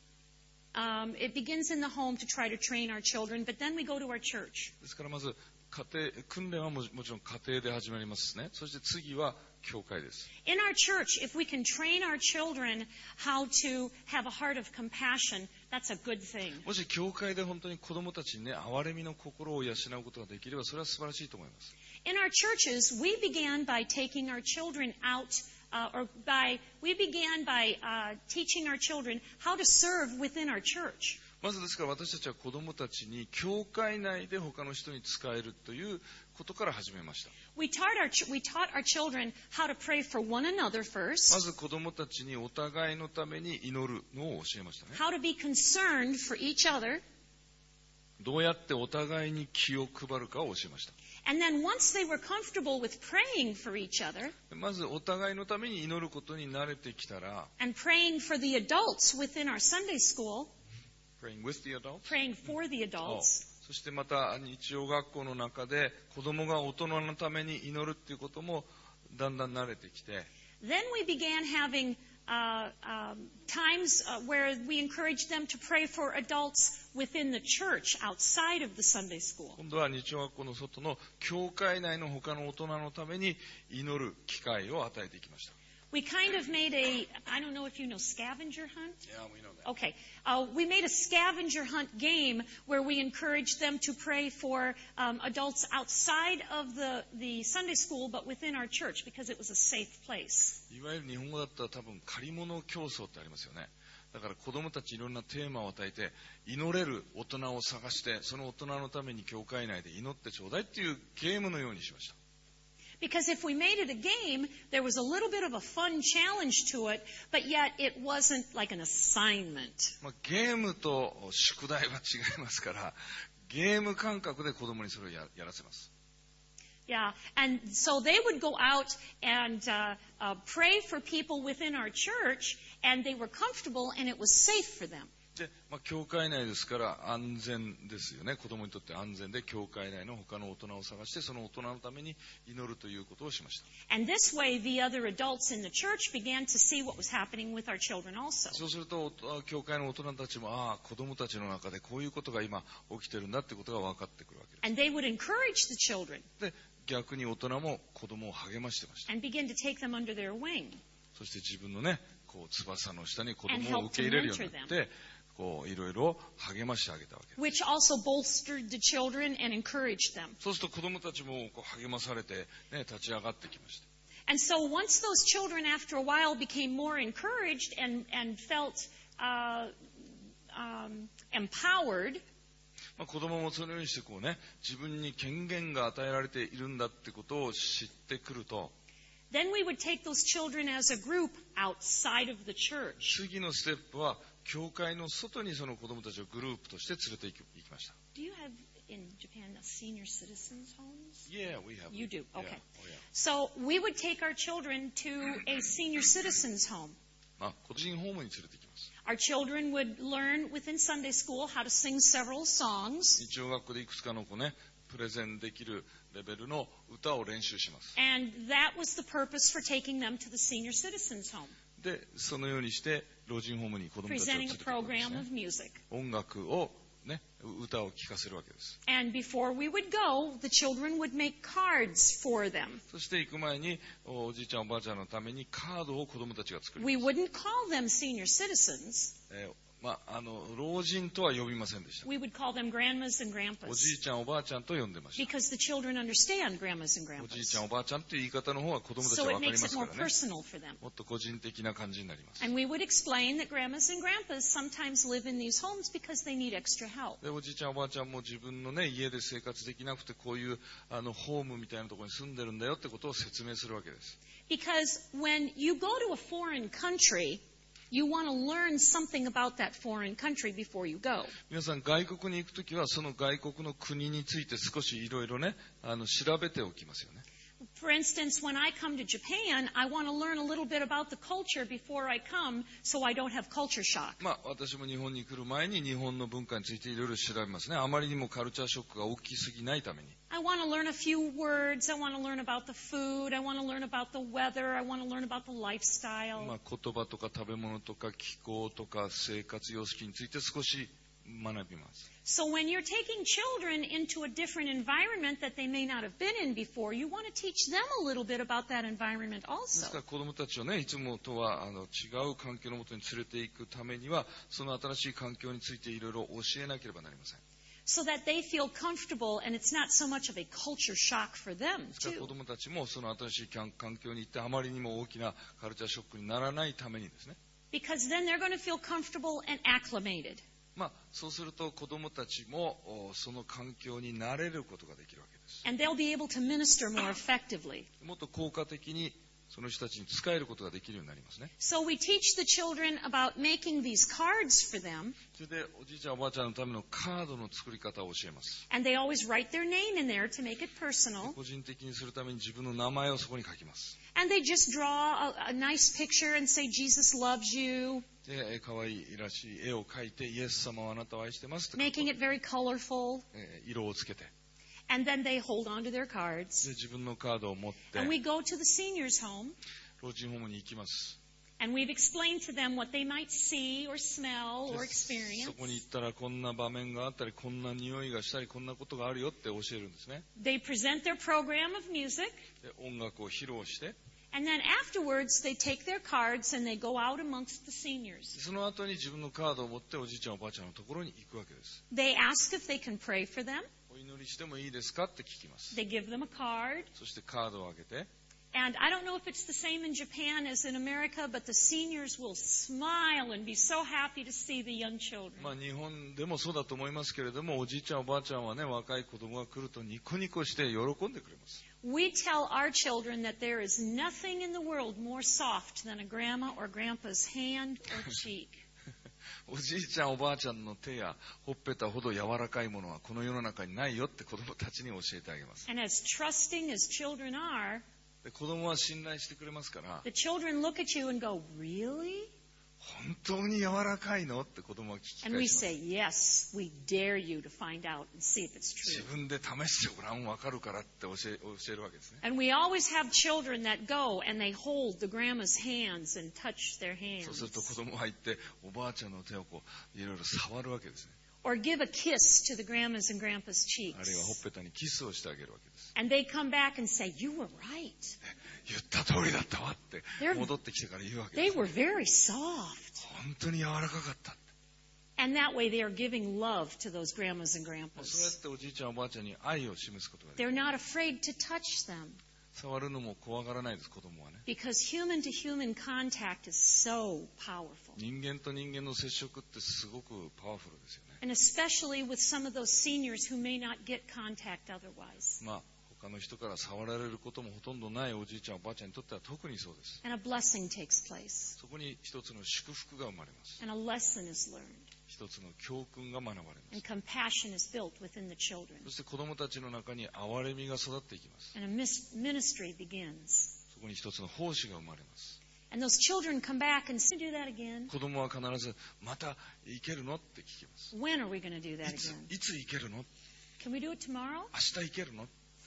[SPEAKER 1] Um, it begins in the home to try to train our children, but then we go to our church.
[SPEAKER 2] ですからまず家庭訓練はももちろん家庭で始まりますね。そして次は教会です。
[SPEAKER 1] In our church, if we can train our children how to have a heart of compassion, that's a good thing.
[SPEAKER 2] もし教会で本当に子供たちにね、憐れみの心を養うことができれば、それは素晴らしいと思います。
[SPEAKER 1] In our churches, we began by taking our children out, uh, or by we began by uh, teaching our children how to serve within our church.
[SPEAKER 2] まずですから私たちは子供たちに教会内で他の人に仕えるということから始めました。
[SPEAKER 1] We taught our ch- we taught our children how to pray for one another
[SPEAKER 2] ま
[SPEAKER 1] first,
[SPEAKER 2] ず子供たちにお互いのために祈るのを教えましたね。
[SPEAKER 1] how to be concerned for each other,
[SPEAKER 2] どうやってお互いに気を配るかを教えました。
[SPEAKER 1] and then once they were comfortable with praying for each other
[SPEAKER 2] まずお互いのために祈ることに慣れてきたら、
[SPEAKER 1] and praying for the adults within our Sunday school,
[SPEAKER 2] praying with the adults
[SPEAKER 1] praying for the adults,
[SPEAKER 2] そしてまた日曜学校の中で子供が大人のために祈るっていうこともだんだん慣れてきて、
[SPEAKER 1] then we began having uh, um, times uh, where we encouraged them to pray for adults within the church outside of the Sunday school.
[SPEAKER 2] 今度は日曜学校の外の教会内の他の大人のために祈る機会を与えていきました。
[SPEAKER 1] We kind of made a, I don't know if you know scavenger hunt.
[SPEAKER 2] Yeah, we know that.
[SPEAKER 1] Okay. Uh, we made a scavenger hunt game where we encouraged them to pray for um, adults outside of the, the Sunday school but within our church because it was a safe place.
[SPEAKER 2] いわゆる日本語だったら多分借り物競争ってありますよね。だから子供たちいろんなテーマを与えて祈れる大人を探して、その大人のために教会内で祈ってちょうだいっていうゲームのようにしました。
[SPEAKER 1] Because if we made it a game, there was a little bit of a fun challenge to it, but yet it wasn't like an assignment.
[SPEAKER 2] まあ、ゲームと宿題は違いますから、ゲーム感覚で子供にそれを や, やらせます。
[SPEAKER 1] Yeah, and so they would go out and uh, uh, pray for people within our church, and they were comfortable, and it was safe for them.
[SPEAKER 2] で、まあ、教会内ですから安全ですよね。子供にとって安全で、教会内の他の大人を探して、その大人のために祈るということをしました。
[SPEAKER 1] And this way, the other adults in the church began to see what was happening with our children also.
[SPEAKER 2] そうすると、教会の大人たちも、ああ、子供たちの中でこういうことが今起きてるんだってことが分かってくるわけです。
[SPEAKER 1] And they would encourage the children
[SPEAKER 2] で、逆に大人も子供を励ましてました。
[SPEAKER 1] and begin to take them under their wing.
[SPEAKER 2] そして自分のね、こう翼の下に子供を受け入れるようになって、こういろいろ励ましてあげたわけです。
[SPEAKER 1] Which also bolstered the children and encouraged them.
[SPEAKER 2] そうすると子供たちもこう励まされて、ね、立ち上がってきました。
[SPEAKER 1] And so once those children, after a while, became more encouraged and, and felt uh, um, empowered,
[SPEAKER 2] まあ、子供もそのようにしてこうね、自分に権限が与えられているんだってことを知ってくると、
[SPEAKER 1] then we would take those children as a group outside of the church.
[SPEAKER 2] 次のステップは教会の外にその子供たちをグループとして連れて行き行きました。
[SPEAKER 1] Do you have in Japan a senior citizens homes?
[SPEAKER 2] Yeah, we have.
[SPEAKER 1] You do, okay.
[SPEAKER 2] Yeah. Oh, yeah.
[SPEAKER 1] So we would take our children to a senior citizens home.
[SPEAKER 2] まあ、個人ホームに連れて行きます。
[SPEAKER 1] Our children would learn within Sunday school how to sing several songs.
[SPEAKER 2] 日曜学校でいくつかの子ね、プレゼンできるレベルの歌を練習します。
[SPEAKER 1] And that was the purpose for taking them to the senior citizens home.
[SPEAKER 2] で、そのようにして老人ホームに子供たちを連れ
[SPEAKER 1] Presenting
[SPEAKER 2] て
[SPEAKER 1] a
[SPEAKER 2] 行くわけです
[SPEAKER 1] program
[SPEAKER 2] ね。
[SPEAKER 1] of music.
[SPEAKER 2] 音楽をね、歌を聴かせるわけです。
[SPEAKER 1] And before we would go, the children would make cards for them.
[SPEAKER 2] そして行く前におじいちゃんおばあちゃんのためにカードを子供たちが作ります。
[SPEAKER 1] We wouldn't call them senior citizens.
[SPEAKER 2] えーまあ、あの老人とは呼びませんでした。
[SPEAKER 1] We would call them grandmas and
[SPEAKER 2] おじい
[SPEAKER 1] grandpas.
[SPEAKER 2] ちゃんおばあちゃんと呼んでました。
[SPEAKER 1] Because the children understand grandmas and
[SPEAKER 2] おじいちゃ
[SPEAKER 1] grandpas.
[SPEAKER 2] んおばあちゃんという言い方の方が子供たち
[SPEAKER 1] So
[SPEAKER 2] は
[SPEAKER 1] it
[SPEAKER 2] 分かり
[SPEAKER 1] makes
[SPEAKER 2] ま
[SPEAKER 1] it
[SPEAKER 2] すか
[SPEAKER 1] more
[SPEAKER 2] らね。
[SPEAKER 1] personal for them.
[SPEAKER 2] もっと個人的な感じになります。
[SPEAKER 1] And we would explain that grandmas and grandpas sometimes live in these homes because they need extra help.
[SPEAKER 2] でおじいちゃんおばあちゃんも自分の、ね、家で生活できなくてこういうあのホームみたいなところに住んでるんだよってことを説明するわけです。
[SPEAKER 1] Because when you go to a foreign country, you want to learn something about that foreign country before you go.
[SPEAKER 2] 皆さん外国に行くときはその外国の国について少しいろいろねあの調べておきますよね。
[SPEAKER 1] For instance, when I come to Japan, I want to learn a little bit about the culture before I come so I don't have culture shock.
[SPEAKER 2] まあ私も日本に来る前に日本の文化についていろいろ調べますね。あまりにもカルチャーショックが大きすぎないために。
[SPEAKER 1] I want to learn a few words. I want to learn about the food. I want to learn about the weather. I want to learn about the
[SPEAKER 2] ま
[SPEAKER 1] lifestyle.
[SPEAKER 2] あ言葉とか食べ物とか気候とか生活様式について少し学びます。
[SPEAKER 1] So when you're taking children into a different environment that they may not have been in before, you want to teach them a little bit about that environment
[SPEAKER 2] ですか
[SPEAKER 1] also.
[SPEAKER 2] ら子どもたちをねいつもとはあの違う環境のもとに連れて行くためにはその新しい環境についていろいろ教えなければなりません。
[SPEAKER 1] So that they feel comfortable and it's not so much of a culture shock for them
[SPEAKER 2] ですから子
[SPEAKER 1] too.
[SPEAKER 2] どもたちもその新しい環環境に行ってあまりにも大きなカルチャーショックにならないためにですね。
[SPEAKER 1] Because then they're going to feel comfortable and acclimated.
[SPEAKER 2] まあそうすると子どもたちもおその環境に慣れることができるわけです。
[SPEAKER 1] And they'll be able to minister more effectively.
[SPEAKER 2] もっと効果的にその人たちに使えることができるようになりますね。
[SPEAKER 1] So we teach the children about making these cards for them.
[SPEAKER 2] それでおじいちゃんおばあちゃんのためのカードの作り方を教えます。
[SPEAKER 1] And they always write their name in there to make it personal.
[SPEAKER 2] 個人的にするために自分の名前をそこに書きます。
[SPEAKER 1] And they just draw a, a nice picture and say, Jesus loves you,
[SPEAKER 2] で、可愛いらしい絵を描いて、イエス様はあなたを愛してますって書く
[SPEAKER 1] making it very colorful.
[SPEAKER 2] えー色をつけて、
[SPEAKER 1] And then they hold on to their
[SPEAKER 2] で
[SPEAKER 1] cards.
[SPEAKER 2] 自分のカードを持って、
[SPEAKER 1] And we go to the seniors' home.
[SPEAKER 2] 老人ホームに行きます。
[SPEAKER 1] And we've explained to them what they might see or smell
[SPEAKER 2] で
[SPEAKER 1] or experience.
[SPEAKER 2] そこに行ったらこんな場面があったり、こんな匂いがしたり、こんなことがあるよって教えるんですね。
[SPEAKER 1] They present their program of music.
[SPEAKER 2] で音楽を披露して、
[SPEAKER 1] And then afterwards, they take their cards and they go out amongst the seniors.
[SPEAKER 2] その後に自分のカードを持っておじいちゃんおばあちゃんのところに行くわけです。
[SPEAKER 1] They ask if they can pray for them.
[SPEAKER 2] お祈りしてもいいですかって聞きます。
[SPEAKER 1] They give them a card.
[SPEAKER 2] そしてカードをあげて、
[SPEAKER 1] And I don't know if it's the same in Japan as in America, but the seniors will smile and be so happy to see the young children.
[SPEAKER 2] まあ日本でもそうだと思いますけれども、おじいちゃんおばあちゃんはね、若い子供が来るとニコニコして喜んでくれます。
[SPEAKER 1] We tell our children that there is nothing in the world more soft than a grandma or grandpa's hand or cheek.
[SPEAKER 2] おじいちゃんおばあちゃんの手やほっぺたほど柔らかいものはこの世の中にないよって子供たちに教えてあげます。
[SPEAKER 1] And as trusting as children are,
[SPEAKER 2] で子供は信頼してくれますから、
[SPEAKER 1] the children look at you and go, "Really?"
[SPEAKER 2] 本当に柔らかいのって子供は聞き
[SPEAKER 1] And
[SPEAKER 2] 返
[SPEAKER 1] we
[SPEAKER 2] します。
[SPEAKER 1] say, "Yes, we dare you to find out and see if it's
[SPEAKER 2] 自
[SPEAKER 1] true."
[SPEAKER 2] 分で試してごらん、わかるからって教え教えるわけですね。
[SPEAKER 1] And we always have children that go and they hold the grandma's hands and touch their
[SPEAKER 2] そうすると
[SPEAKER 1] hands.
[SPEAKER 2] 子供が行っておばあちゃんの手をこういろいろ触るわけですね。
[SPEAKER 1] Or give a kiss to the grandma's and grandpa's
[SPEAKER 2] あるいはほっ
[SPEAKER 1] cheeks.
[SPEAKER 2] ぺたにキスをしてあげるわけです。
[SPEAKER 1] And they come back and say, "You were right.
[SPEAKER 2] 言った通りだったわって
[SPEAKER 1] They're-
[SPEAKER 2] 戻ってきてから言うわけで
[SPEAKER 1] They
[SPEAKER 2] す。
[SPEAKER 1] were very soft."
[SPEAKER 2] 本当に柔らかかったって。
[SPEAKER 1] And that way they are giving love to those grandmas and
[SPEAKER 2] そうや
[SPEAKER 1] grandpas.
[SPEAKER 2] っておじいちゃんおばあちゃんに愛を示すことができ
[SPEAKER 1] They're
[SPEAKER 2] る。
[SPEAKER 1] not afraid to touch them
[SPEAKER 2] 触るのも怖がらないです、子供はね。
[SPEAKER 1] because human to human contact is so powerful.
[SPEAKER 2] 人間と人間の接触ってすごくパワフルですよね。
[SPEAKER 1] And especially with some of those seniors who may not get contact otherwise.
[SPEAKER 2] まあ他の人から触られることもほとんどないおじいちゃんおばあちゃんにとっては特にそうです。
[SPEAKER 1] And a blessing takes place.
[SPEAKER 2] そこに一つの祝福が生まれます。
[SPEAKER 1] And a lesson is learned.
[SPEAKER 2] 一つの教訓が学ばれま
[SPEAKER 1] And
[SPEAKER 2] す。
[SPEAKER 1] compassion is built within the children.
[SPEAKER 2] そして子供たちの中に憐れみが育っていきます。
[SPEAKER 1] And a mis- ministry begins.
[SPEAKER 2] そこに一つの奉仕が生まれます。
[SPEAKER 1] And those children come back and say, do that again.
[SPEAKER 2] 子供は必ずまた行けるのって聞きます。
[SPEAKER 1] When are we going to do that
[SPEAKER 2] いつ
[SPEAKER 1] again?
[SPEAKER 2] いつ行けるの、
[SPEAKER 1] Can we do it tomorrow?
[SPEAKER 2] 明日行けるの。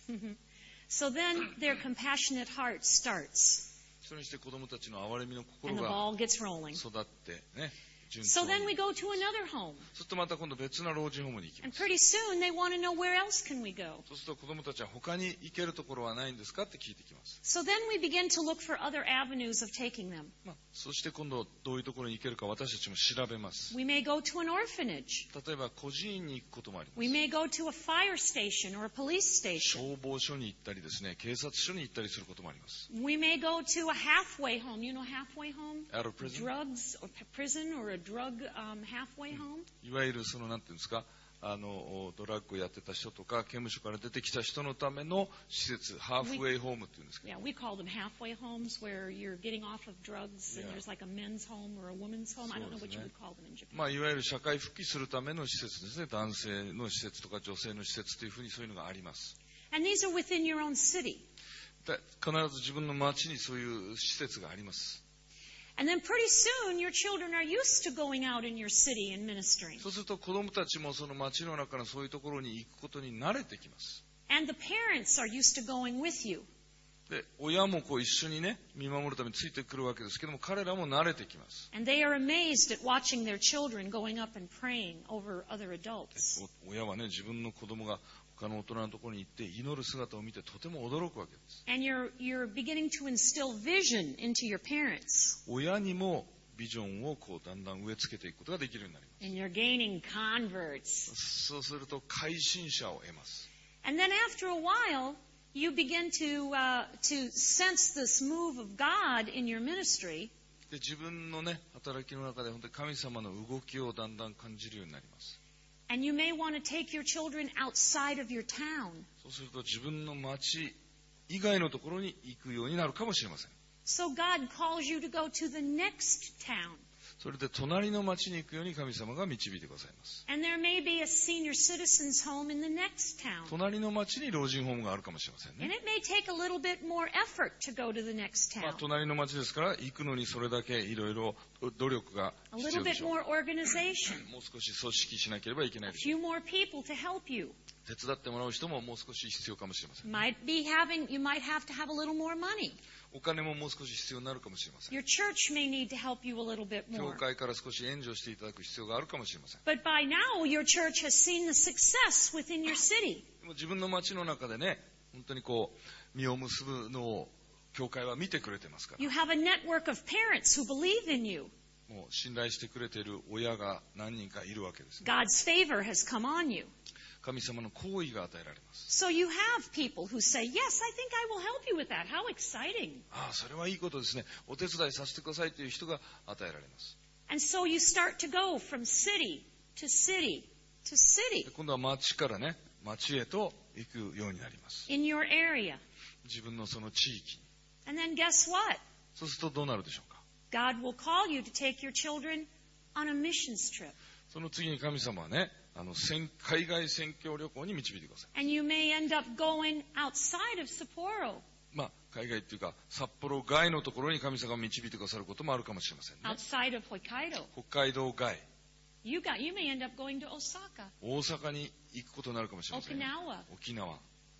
[SPEAKER 1] So then their compassionate heart starts.
[SPEAKER 2] それにして子供たちの憐れみの心
[SPEAKER 1] And the
[SPEAKER 2] が
[SPEAKER 1] ball gets rolling.
[SPEAKER 2] 育ってね、順
[SPEAKER 1] So
[SPEAKER 2] 調
[SPEAKER 1] then
[SPEAKER 2] に
[SPEAKER 1] we go to another home.
[SPEAKER 2] そうするとまた今度別な老人ホームに行きま
[SPEAKER 1] And
[SPEAKER 2] す。
[SPEAKER 1] pretty soon they want to know, where else can we go?
[SPEAKER 2] そうすると子供たちは他に行けるところはないんですかって聞いてきます。
[SPEAKER 1] So then we begin to look for other avenues of taking them.
[SPEAKER 2] まあ、そして今度どういうところに行けるか私たちも調べます。
[SPEAKER 1] We may go to an orphanage.
[SPEAKER 2] 例えば孤児院に行くこともありま
[SPEAKER 1] We
[SPEAKER 2] す。
[SPEAKER 1] may go to a fire station or a police station.
[SPEAKER 2] 消防署に行ったりですね、警察署に行ったりすることもあります。
[SPEAKER 1] We may go to a halfway home. You know halfway home?
[SPEAKER 2] Out of prison?
[SPEAKER 1] Drugs or p- prison or a drug um, halfway home.
[SPEAKER 2] いわゆるそのなんていうんですか、あのドラッグをやってた人とか刑務所から出てきた人のための施設、ハーフウェイホームっていうんですけど、
[SPEAKER 1] Yeah, we call them halfway homes where you're getting off of drugs and
[SPEAKER 2] Yeah.
[SPEAKER 1] there's like a men's home or a woman's home. I don't know what you
[SPEAKER 2] そうですね。
[SPEAKER 1] would call them in Japan.
[SPEAKER 2] まあ、いわゆる社会復帰するための施設ですね。男性の施設とか女性の施設というふうにそういうのがあります。
[SPEAKER 1] And these are within your own city.
[SPEAKER 2] で必ず自分の町にそういう施設があります。
[SPEAKER 1] And then pretty soon your children are used to going out in your city and ministering.
[SPEAKER 2] そうすると子供たちもその町の中のそういうところに行くことに慣れてきます。
[SPEAKER 1] And the parents are used to going with you.
[SPEAKER 2] で、親もこう一緒にね、見守るためについてくるわけですけども、彼らも慣れてきます。
[SPEAKER 1] And they are amazed at watching their children going up and praying over other adults.
[SPEAKER 2] お親はね、自分の子供が他の大人のところに行って祈る姿を見てとても驚くわけです。
[SPEAKER 1] And you're, you're beginning to instill vision into your parents.
[SPEAKER 2] 親にもビジョンをこうだんだん植え付けていくことができるようになります。
[SPEAKER 1] And you're gaining converts.
[SPEAKER 2] そうすると改心者を得ます。
[SPEAKER 1] And then after a while, you begin to, uh, to sense this move of God in your ministry.
[SPEAKER 2] で、自分のね、働きの中で本当に神様の動きをだんだん感じるようになります。
[SPEAKER 1] And you may want to take your children outside of your town.
[SPEAKER 2] そうすると自分の町以外のところに行くようになるかもしれません。
[SPEAKER 1] So God calls you to go to the next town.
[SPEAKER 2] それで隣の町に行くように神様が導いてくださいます。
[SPEAKER 1] And there may be a senior citizen's home in the next town.
[SPEAKER 2] 隣の町に老人ホームがあるかもしれません
[SPEAKER 1] And
[SPEAKER 2] ね。
[SPEAKER 1] it may take a little bit more effort to go to the next
[SPEAKER 2] まあ、
[SPEAKER 1] town.
[SPEAKER 2] 隣の町ですから行くのにそれだけいろいろ努力が
[SPEAKER 1] A
[SPEAKER 2] 必
[SPEAKER 1] little
[SPEAKER 2] 要で
[SPEAKER 1] bit
[SPEAKER 2] しょう。
[SPEAKER 1] more organization.
[SPEAKER 2] もう少し組織しなければいけない
[SPEAKER 1] A
[SPEAKER 2] でしょ
[SPEAKER 1] few more people to help you.
[SPEAKER 2] う。手伝ってもらう人ももう少し必要かもしれません。
[SPEAKER 1] Might be having, you might have to have a little more money.
[SPEAKER 2] お金ももう少し必要になるかもしれません。
[SPEAKER 1] Your church may need to help you a little bit
[SPEAKER 2] 教
[SPEAKER 1] more.
[SPEAKER 2] 会から少し援助していただく必要があるかもしれません。
[SPEAKER 1] But by now, your church has seen the success within your city.
[SPEAKER 2] でも自分の町の中でね、本当にこう実を結ぶのを教会は見てくれてますから、
[SPEAKER 1] You have a network of parents who believe in you.
[SPEAKER 2] もう信頼してくれている親が何人かいるわけですね。
[SPEAKER 1] God's favor has come on you.
[SPEAKER 2] 神様の行為が与えられます。
[SPEAKER 1] So you have people who say, yes, I think I will help you with that. How exciting.
[SPEAKER 2] ああ、それはいいことですね。お手伝いさせてくださいという人が与えられます。
[SPEAKER 1] And so you start to go from city to city to city
[SPEAKER 2] で今度は町からね、町へと行くようになります。
[SPEAKER 1] in your area.
[SPEAKER 2] 自分のその地域に。
[SPEAKER 1] And then guess what?
[SPEAKER 2] そうするとどうなるでしょうか。
[SPEAKER 1] God will call you to take your children on a missions trip.
[SPEAKER 2] その次に神様はね、あの宣海外宣教旅行に導いてください。
[SPEAKER 1] And you may end up going outside of Sapporo,
[SPEAKER 2] まあ、海外っていうか札幌外のところに神様が導いてくださることもあるかもしれませんね。
[SPEAKER 1] outside of Hokkaido.
[SPEAKER 2] 北海道外、
[SPEAKER 1] You got, you may end up going to Osaka,
[SPEAKER 2] 大阪に行くことになるかもしれませんね。
[SPEAKER 1] Okinawa.
[SPEAKER 2] 沖縄。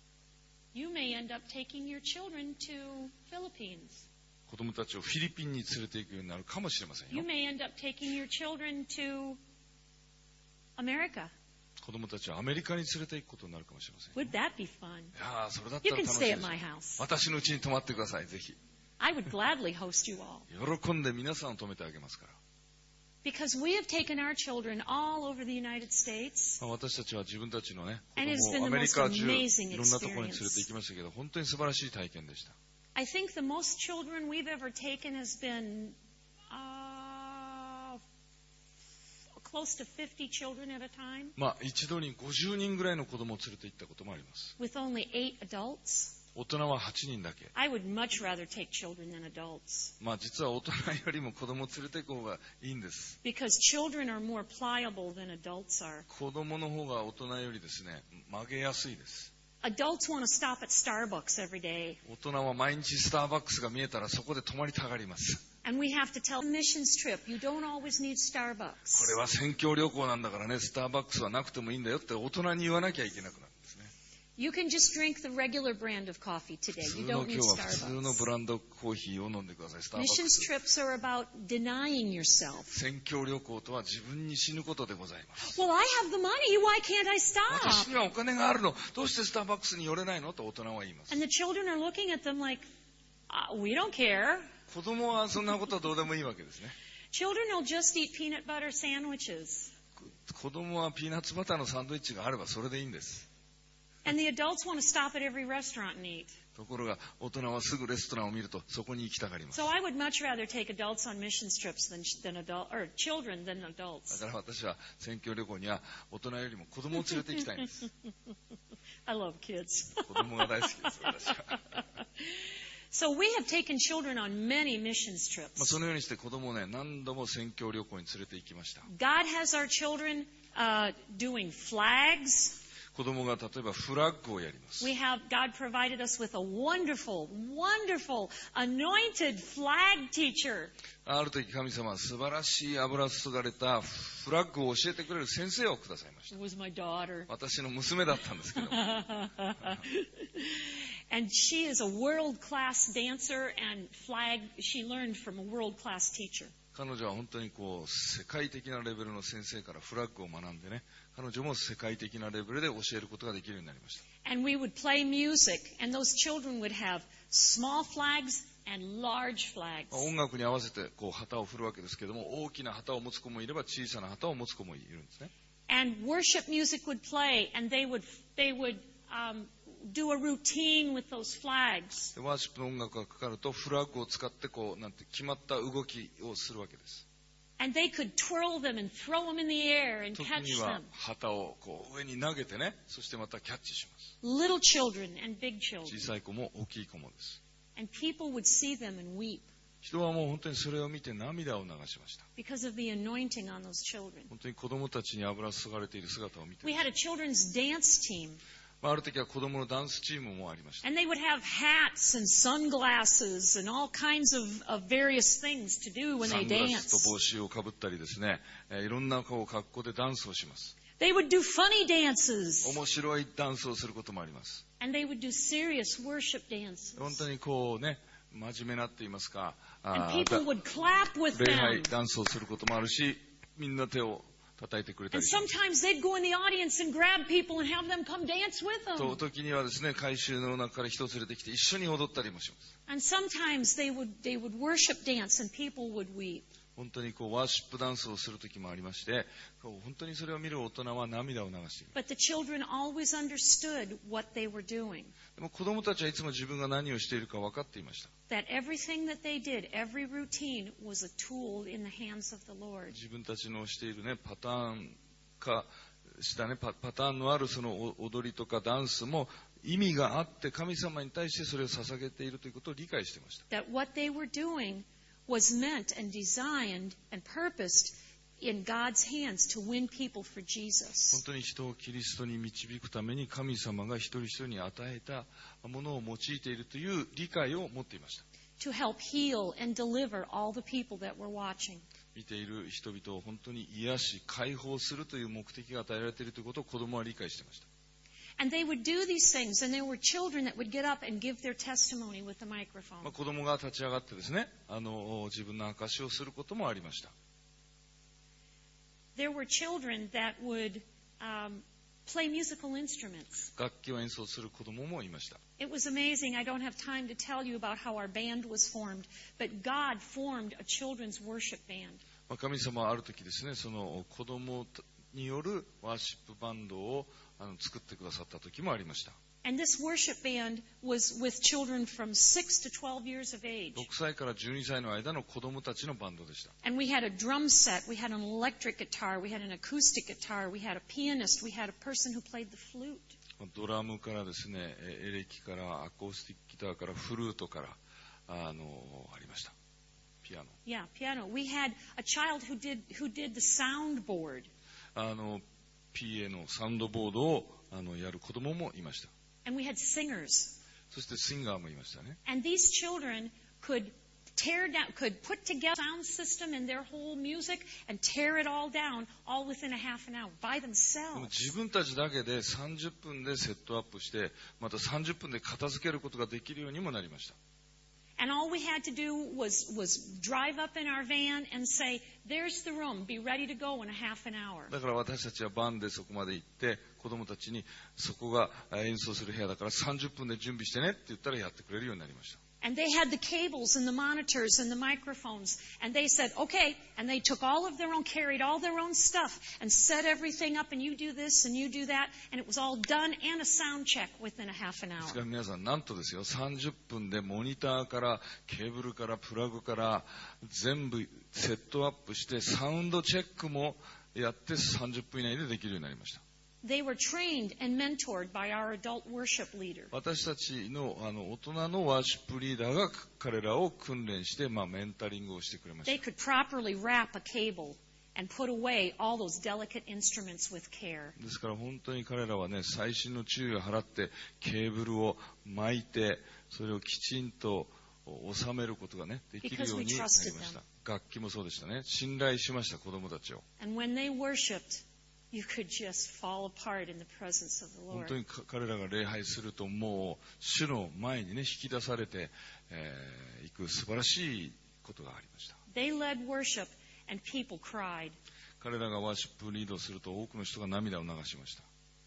[SPEAKER 1] You may end up taking your children to Philippines.
[SPEAKER 2] 子供たちをフィリピンに連れて行くようになるかもしれません
[SPEAKER 1] You
[SPEAKER 2] よ。
[SPEAKER 1] may end up taking your children to America.
[SPEAKER 2] 子供たちをアメリカに連れて行くことになるかもしれませんよ。
[SPEAKER 1] Would that be fun?
[SPEAKER 2] いやー、それだった
[SPEAKER 1] You
[SPEAKER 2] ら
[SPEAKER 1] can
[SPEAKER 2] 楽しい
[SPEAKER 1] stay
[SPEAKER 2] で
[SPEAKER 1] at
[SPEAKER 2] す。
[SPEAKER 1] my house.
[SPEAKER 2] 私の家に泊まってください、ぜひ。
[SPEAKER 1] I would gladly host you all.
[SPEAKER 2] 喜んで皆さんを泊めてあげますから。
[SPEAKER 1] Because we have taken our children all over the United States.
[SPEAKER 2] まあ私たちは自分たちのね、子
[SPEAKER 1] And it's
[SPEAKER 2] 供
[SPEAKER 1] been
[SPEAKER 2] をア
[SPEAKER 1] the
[SPEAKER 2] メリ
[SPEAKER 1] most
[SPEAKER 2] カ中
[SPEAKER 1] amazing
[SPEAKER 2] いろんなところに連れて
[SPEAKER 1] experience.
[SPEAKER 2] 行きましたけど、本当に素晴らしい体験でした。
[SPEAKER 1] I think the most children we've ever taken has been uh, close to fifty children at a time
[SPEAKER 2] まあ、一度にごじゅうにんぐらいの子供を連れて行ったこともあります。
[SPEAKER 1] with only eight adults.
[SPEAKER 2] 大人ははちにんだけ。
[SPEAKER 1] I would much rather take children than adults
[SPEAKER 2] まあ、実は大人よりも子供を連れて行く方がいいんです。
[SPEAKER 1] because children are more pliable than adults are.
[SPEAKER 2] 子供の方が大人よりですね、曲げやすいです。
[SPEAKER 1] Adults want to stop at Starbucks every day.
[SPEAKER 2] 大人は毎日スターバックスが見えたらそこで泊まりたがります。
[SPEAKER 1] And we have to tell a missions trip, you don't always need
[SPEAKER 2] こ
[SPEAKER 1] Starbucks.
[SPEAKER 2] れは宣教旅行なんだからね、スターバックスはなくてもいいんだよって大人に言わなきゃいけなくなるんですね。
[SPEAKER 1] You can just drink the regular brand of coffee today.
[SPEAKER 2] 普
[SPEAKER 1] You
[SPEAKER 2] 通の
[SPEAKER 1] don't
[SPEAKER 2] 今
[SPEAKER 1] need
[SPEAKER 2] 日は普通の
[SPEAKER 1] Starbucks.
[SPEAKER 2] ブランドコーヒーを飲んでください。スターバック
[SPEAKER 1] Missions
[SPEAKER 2] ス。
[SPEAKER 1] trips are about denying yourself.
[SPEAKER 2] 宣教旅行とは自分に死ぬことでございます。
[SPEAKER 1] Well, I have the money. Why can't I
[SPEAKER 2] 私
[SPEAKER 1] stop?
[SPEAKER 2] にはお金があるの。どうしてスターバックスに寄れないのと大人は言います。
[SPEAKER 1] And the children are looking at them like, uh, we don't care.
[SPEAKER 2] 子供はそんなことはどうでもいいわけですね。
[SPEAKER 1] Children will just eat peanut butter sandwiches.
[SPEAKER 2] 子供はピーナッツバターのサンドイッチがあればそれでいいんです。
[SPEAKER 1] And the adults want to stop at every restaurant and eat.
[SPEAKER 2] ところが大人はすぐレストランを見るとそこに行きたがります。
[SPEAKER 1] So I would much rather take adults on missions trips than, than adult, or children than
[SPEAKER 2] だ
[SPEAKER 1] adults.
[SPEAKER 2] から私は宣教旅行には大人よりも子供を連れて行きたいんです。
[SPEAKER 1] I love kids.
[SPEAKER 2] 子供が大好きです、私は。
[SPEAKER 1] So we have taken children on many missions
[SPEAKER 2] まあ
[SPEAKER 1] trips.
[SPEAKER 2] そのようにして子供をね、何度も宣教旅行に連れて行きました。
[SPEAKER 1] God has our children uh, doing flags.
[SPEAKER 2] 子供が例えばフラッグをやります。
[SPEAKER 1] We have God provided us with a wonderful, wonderful, anointed flag teacher.
[SPEAKER 2] ある時神様は素晴らしい油注がれたフラッグを教えてくれる先生をくださいまし
[SPEAKER 1] It
[SPEAKER 2] た。
[SPEAKER 1] was my daughter.
[SPEAKER 2] 私の娘だったんですけども。
[SPEAKER 1] And she is a world-class dancer and flag. She learned from a world-class teacher.
[SPEAKER 2] 彼女は本当にこう世界的なレベルの先生からフラッグを学んでね、彼女も世界的なレベルで教えることができるようになりました。
[SPEAKER 1] And we would play music, and those children would have small flags and large flags.
[SPEAKER 2] まあ音楽に合わせてこう旗を振るわけですけども、大きな旗を持つ子もいれば小さな旗を持つ子もいるんですね。
[SPEAKER 1] And worship music would play, and they would they would um, do a routine with those flags.
[SPEAKER 2] でワーシップの音楽がかかるとフラッグを使ってこうなんて決まった動きをするわけです。
[SPEAKER 1] And they could twirl them and throw them in the air and
[SPEAKER 2] 時
[SPEAKER 1] catch
[SPEAKER 2] には
[SPEAKER 1] them.
[SPEAKER 2] 旗をこう上に投げてね、そしてまたキャッチします。
[SPEAKER 1] Little children and big children.
[SPEAKER 2] 小さい子も大きい子もです。
[SPEAKER 1] And people would see them and weep
[SPEAKER 2] 人はもう本当にそれを見て涙を流しました。
[SPEAKER 1] because of the anointing on those children.
[SPEAKER 2] 本当に子供たちに油注がれている姿を見て、
[SPEAKER 1] We had a children's dance team,
[SPEAKER 2] まあ、ある時は子供のダンスチームもありました。
[SPEAKER 1] and they would have hats and sunglasses and all kinds of, of various things to do when
[SPEAKER 2] サ
[SPEAKER 1] they
[SPEAKER 2] ングラスと
[SPEAKER 1] dance.
[SPEAKER 2] 帽子をかぶったりですね、えーいろんなこう格好でダンスをします。
[SPEAKER 1] They would do funny dances,
[SPEAKER 2] 面白いダンスをすることもあります。
[SPEAKER 1] and they would do serious worship dances.
[SPEAKER 2] 本当にこうね、真面目なって言いますか、
[SPEAKER 1] And
[SPEAKER 2] あー
[SPEAKER 1] people would clap with
[SPEAKER 2] 礼拝
[SPEAKER 1] them.
[SPEAKER 2] ダンスをすることもあるし、みんな手を叩いてくれた
[SPEAKER 1] And
[SPEAKER 2] りします。
[SPEAKER 1] sometimes they'd go in the audience and grab people and have them come dance with
[SPEAKER 2] と
[SPEAKER 1] them.
[SPEAKER 2] 時にはですね、改宗の中から人を連れてきて一緒に踊ったりもします。
[SPEAKER 1] And sometimes they would they would worship dance and people would weep.
[SPEAKER 2] 本当にこうワーシップダンスをする時もありまして、こう本当にそれを見る大人は涙を流している。
[SPEAKER 1] But the children always understood what they were doing.
[SPEAKER 2] でも子供たちはいつも自分が何をしているか分かっていました。
[SPEAKER 1] That everything that they did, every routine, was a tool in the hands of the Lord.
[SPEAKER 2] 自分たちのしているね、パターン化したね、パ, パターンのあるその踊りとかダンスも意味があって神様に対してそれを捧げているということを理解していました。
[SPEAKER 1] That what they were doing was meant and designed and purposed in God's hands to win people for
[SPEAKER 2] 本
[SPEAKER 1] Jesus.
[SPEAKER 2] 当に人をキリストに導くために神様が一人一人に与えたものを用いているという理解を持っていました。
[SPEAKER 1] To help heal and deliver all the people that were watching.
[SPEAKER 2] 見ている人々を本当に癒し解放するという目的が与えられているということを子供は理解していました。
[SPEAKER 1] And they would do these things, and there were children that would get up and give their testimony with the
[SPEAKER 2] まあ、
[SPEAKER 1] microphone.
[SPEAKER 2] 子供が立ち上がってですね、あの自分の証しをすることもありました。
[SPEAKER 1] There were children that would um, play musical instruments.
[SPEAKER 2] 楽器を演奏する子供もいました。
[SPEAKER 1] It was amazing. I don't have time to tell you about how our band was formed, but God formed a children's worship band.
[SPEAKER 2] まあ、神様はある時ですね、その子供によるワーシップバンドをあの作ってくださった時もありました。
[SPEAKER 1] And this worship band was with children from six to twelve years of age.
[SPEAKER 2] ろくさいからじゅうにさいの間の子供たちのバンドでした。
[SPEAKER 1] And we had a drum set, we had an electric guitar, we had an acoustic guitar, we had a pianist, we had a person who played the flute.
[SPEAKER 2] ドラムからですね、エレキからアコースティックギターからフルートからあのありました。ピアノ。
[SPEAKER 1] Yeah, piano. We had a child who did who did the soundboard.
[SPEAKER 2] あの ピーエー のサウンドボードをあのやる子供もいました。
[SPEAKER 1] And we had singers.
[SPEAKER 2] そしてシンガーもいましたね。
[SPEAKER 1] And these children could tear down, could put together a sound system and their whole music and tear it all down all within a half an hour by
[SPEAKER 2] でも
[SPEAKER 1] themselves.
[SPEAKER 2] 自分たちだけでさんじゅっぷんでセットアップして、またさんじゅっぷんで片付けることができるようにもなりました。
[SPEAKER 1] And all we had to do was, was drive up in our van and say, there's the room, be ready to go in a half an hour.
[SPEAKER 2] だから私たちはバンでそこまで行って子供たちにそこが演奏する部屋だからさんじゅっぷんで準備してねって言ったらやってくれるようになりました。
[SPEAKER 1] And they had the cables and the monitors and the microphones. And they said, okay. And they took all of their own, carried all their own stuff and set everything up. And you do this and you do that. And it was all done and a sound check within a half an
[SPEAKER 2] です
[SPEAKER 1] hour.
[SPEAKER 2] から皆さんなんとですよ、さんじゅっぷんでモニターからケーブルからプラグから全部セットアップしてサウンドチェックもやってさんじゅっぷん以内でできるようになりました。
[SPEAKER 1] They were trained and mentored by our adult worship leader.
[SPEAKER 2] 私たち の, あの大人のワーシップリーダーが彼らを訓練して、まあ、メンタリングをしてくれまし
[SPEAKER 1] They
[SPEAKER 2] た。
[SPEAKER 1] could properly wrap a cable and put away all those delicate instruments with care.
[SPEAKER 2] ですから本当に彼らはね、細心の注意を払ってケーブルを巻いてそれをきちんと収めることがねできるようになりました。楽器もそうでしたね。信頼しました、子供たちを。
[SPEAKER 1] And when they worshiped, you could just fall apart in the presence of the
[SPEAKER 2] 本
[SPEAKER 1] Lord.
[SPEAKER 2] 当に彼らが礼拝するともう主の前にね引き出されてい、えー、く素晴らしいことがありました。
[SPEAKER 1] They led worship and people cried.
[SPEAKER 2] 彼らがワーシップリードすると多くの人が涙を流しました。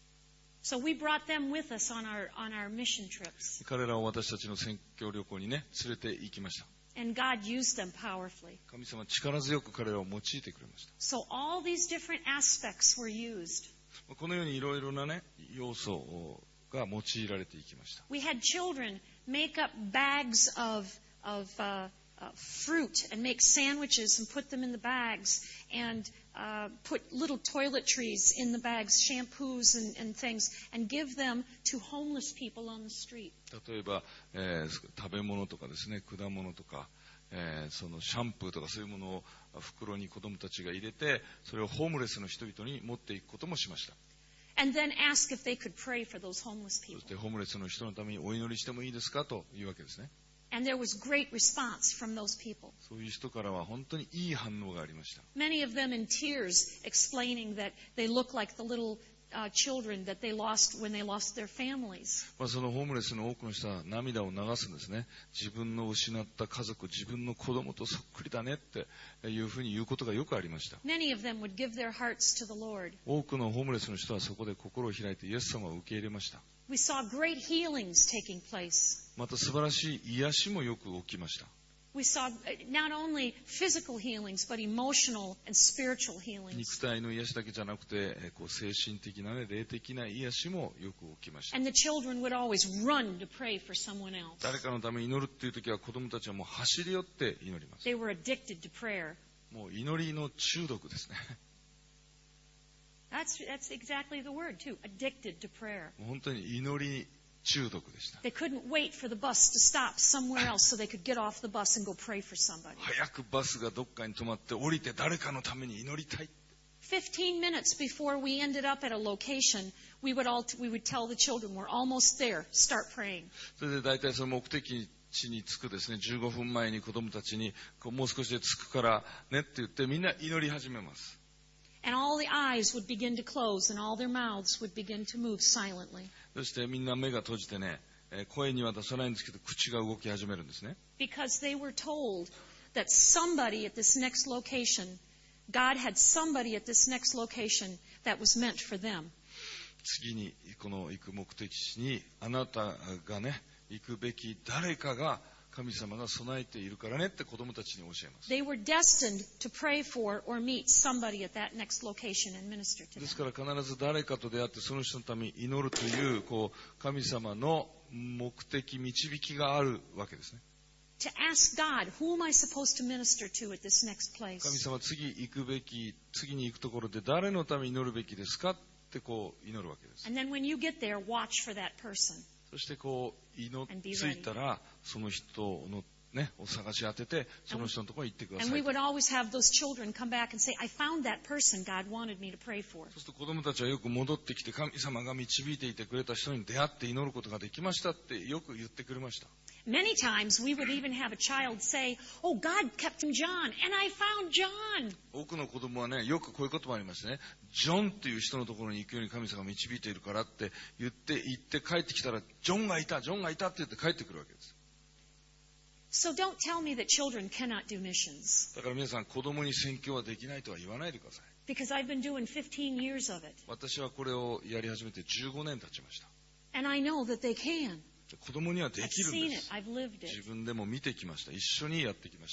[SPEAKER 1] So we brought them with us on our on our mission trips.
[SPEAKER 2] 彼らを私たちの宣教旅行にね連れて行きました。
[SPEAKER 1] And God used them powerfully.
[SPEAKER 2] 神様は力強く彼らを用いてくれました。
[SPEAKER 1] So all these different aspects were used.
[SPEAKER 2] このようにいろいろなね要素が用いられていきました。
[SPEAKER 1] We had children make up bags of of uh, uh, fruit and make sandwiches and put them in the bags and uh, put little toiletries in the bags, shampoos and, and things, and give them to homeless people on the street.
[SPEAKER 2] 例えば、えー、食べ物とかですね、果物とか、えー、そのシャンプーとかそういうものを袋に子供たちが入れて、それをホームレスの人々に持っていくこともしました。
[SPEAKER 1] And then ask if they could pray for those homeless
[SPEAKER 2] そ
[SPEAKER 1] people.
[SPEAKER 2] してホームレスの人のためにお祈りしてもいいですかというわけですね。
[SPEAKER 1] And there was great response from those people.
[SPEAKER 2] そういう人からは本当にいい反応がありました。
[SPEAKER 1] Many of them in tears explaining that they look like the little uh, children that they lost when they lost their families.
[SPEAKER 2] まあ、そのホームレスの多くの人は涙を流すんですね。自分の失った家族、自分の子供とそっくりだねっていうふうに言うことがよくありました。
[SPEAKER 1] Many of them would give their hearts to the Lord.
[SPEAKER 2] 多くのホームレスの人はそこで心を開いてイエス様を受け入れました。
[SPEAKER 1] We saw great healings taking place.
[SPEAKER 2] また素晴らしい癒しもよく起きました。
[SPEAKER 1] We saw not only physical healings, but emotional and spiritual healings.
[SPEAKER 2] 肉体の癒しだけじゃなくて、こう精神的な、ね、霊的な癒しもよく起きました。
[SPEAKER 1] And the children would always run to pray for someone else.
[SPEAKER 2] 誰かのために祈るっていう時は子供たちはもう走り寄って祈ります。
[SPEAKER 1] They were addicted to prayer.
[SPEAKER 2] もう祈りの中毒ですね。
[SPEAKER 1] That's, that's exactly the word, too. Addicted to prayer.
[SPEAKER 2] もう本当に祈り中毒でした。
[SPEAKER 1] They couldn't wait for the bus to stop somewhere else so they could get off the bus and go pray for somebody.
[SPEAKER 2] 早くバスがどっかに止まって降りて誰かのために祈りたい。
[SPEAKER 1] Fifteen minutes before we ended up at a location, we would all we would tell the children, "We're almost there. Start praying."
[SPEAKER 2] それで大体その目的地に着くですね、じゅうごふんまえに子供たちにこうもう少しで着くからねって言ってみんな祈り始めます。
[SPEAKER 1] And all the eyes would begin to close and all their mouths would begin to move silently.
[SPEAKER 2] そしてみんな目が閉じてね、声には出さないんですけど口が動き始めるんですね。
[SPEAKER 1] Because they were told that somebody at this next location, God had somebody at this next location that was meant for them.
[SPEAKER 2] 次にこの行く目的地にあなたがね行くべき誰かが神様が備えているからねって子供たちに教えます。
[SPEAKER 1] They were destined to pray for or meet somebody at that next location and minister to
[SPEAKER 2] です
[SPEAKER 1] them.
[SPEAKER 2] から必ず誰かと出会ってその人のために祈るという、こう神様の目的導きがあるわけですね。
[SPEAKER 1] To ask God, who am I supposed to minister to at this next
[SPEAKER 2] 神
[SPEAKER 1] place?
[SPEAKER 2] 様、次行くべき、次に行くところで誰のために祈るべきですかってこう祈るわけです。
[SPEAKER 1] And then when you get there, watch for that person.
[SPEAKER 2] そしてこう祈
[SPEAKER 1] And be
[SPEAKER 2] っ
[SPEAKER 1] ready.
[SPEAKER 2] ついたらその人のね、お探し当ててその人のところに行ってくだ
[SPEAKER 1] And
[SPEAKER 2] さ
[SPEAKER 1] we
[SPEAKER 2] い。
[SPEAKER 1] would always have those children come back and say, I found that person God wanted me to pray for.
[SPEAKER 2] そうすると子供たちはよく戻ってきて、神様が導いていてくれた人に出会って祈ることができましたってよく言ってくれました。
[SPEAKER 1] Many times we would even have a child say, oh, God kept him John, and I found John.
[SPEAKER 2] 多くの子供はね、よくこういう言葉ありましてね、ジョンっていう人のところに行くように神様が導いているからって言って行って帰ってきたら、ジョンがいた、ジョンがいたって言って帰ってくるわけです。
[SPEAKER 1] So don't tell me that children cannot do missions,
[SPEAKER 2] だから皆さん、子供に宣教はできないとは言わないでください。
[SPEAKER 1] because I've been doing fifteen years of it,
[SPEAKER 2] 私はこれをやり始めてじゅうごねん経ちました。
[SPEAKER 1] and I know that they can.
[SPEAKER 2] 子供にはで
[SPEAKER 1] I've
[SPEAKER 2] きるん
[SPEAKER 1] seen
[SPEAKER 2] で
[SPEAKER 1] it.
[SPEAKER 2] す。
[SPEAKER 1] I've lived it.
[SPEAKER 2] 自分でも見てきました。一緒にやってきました。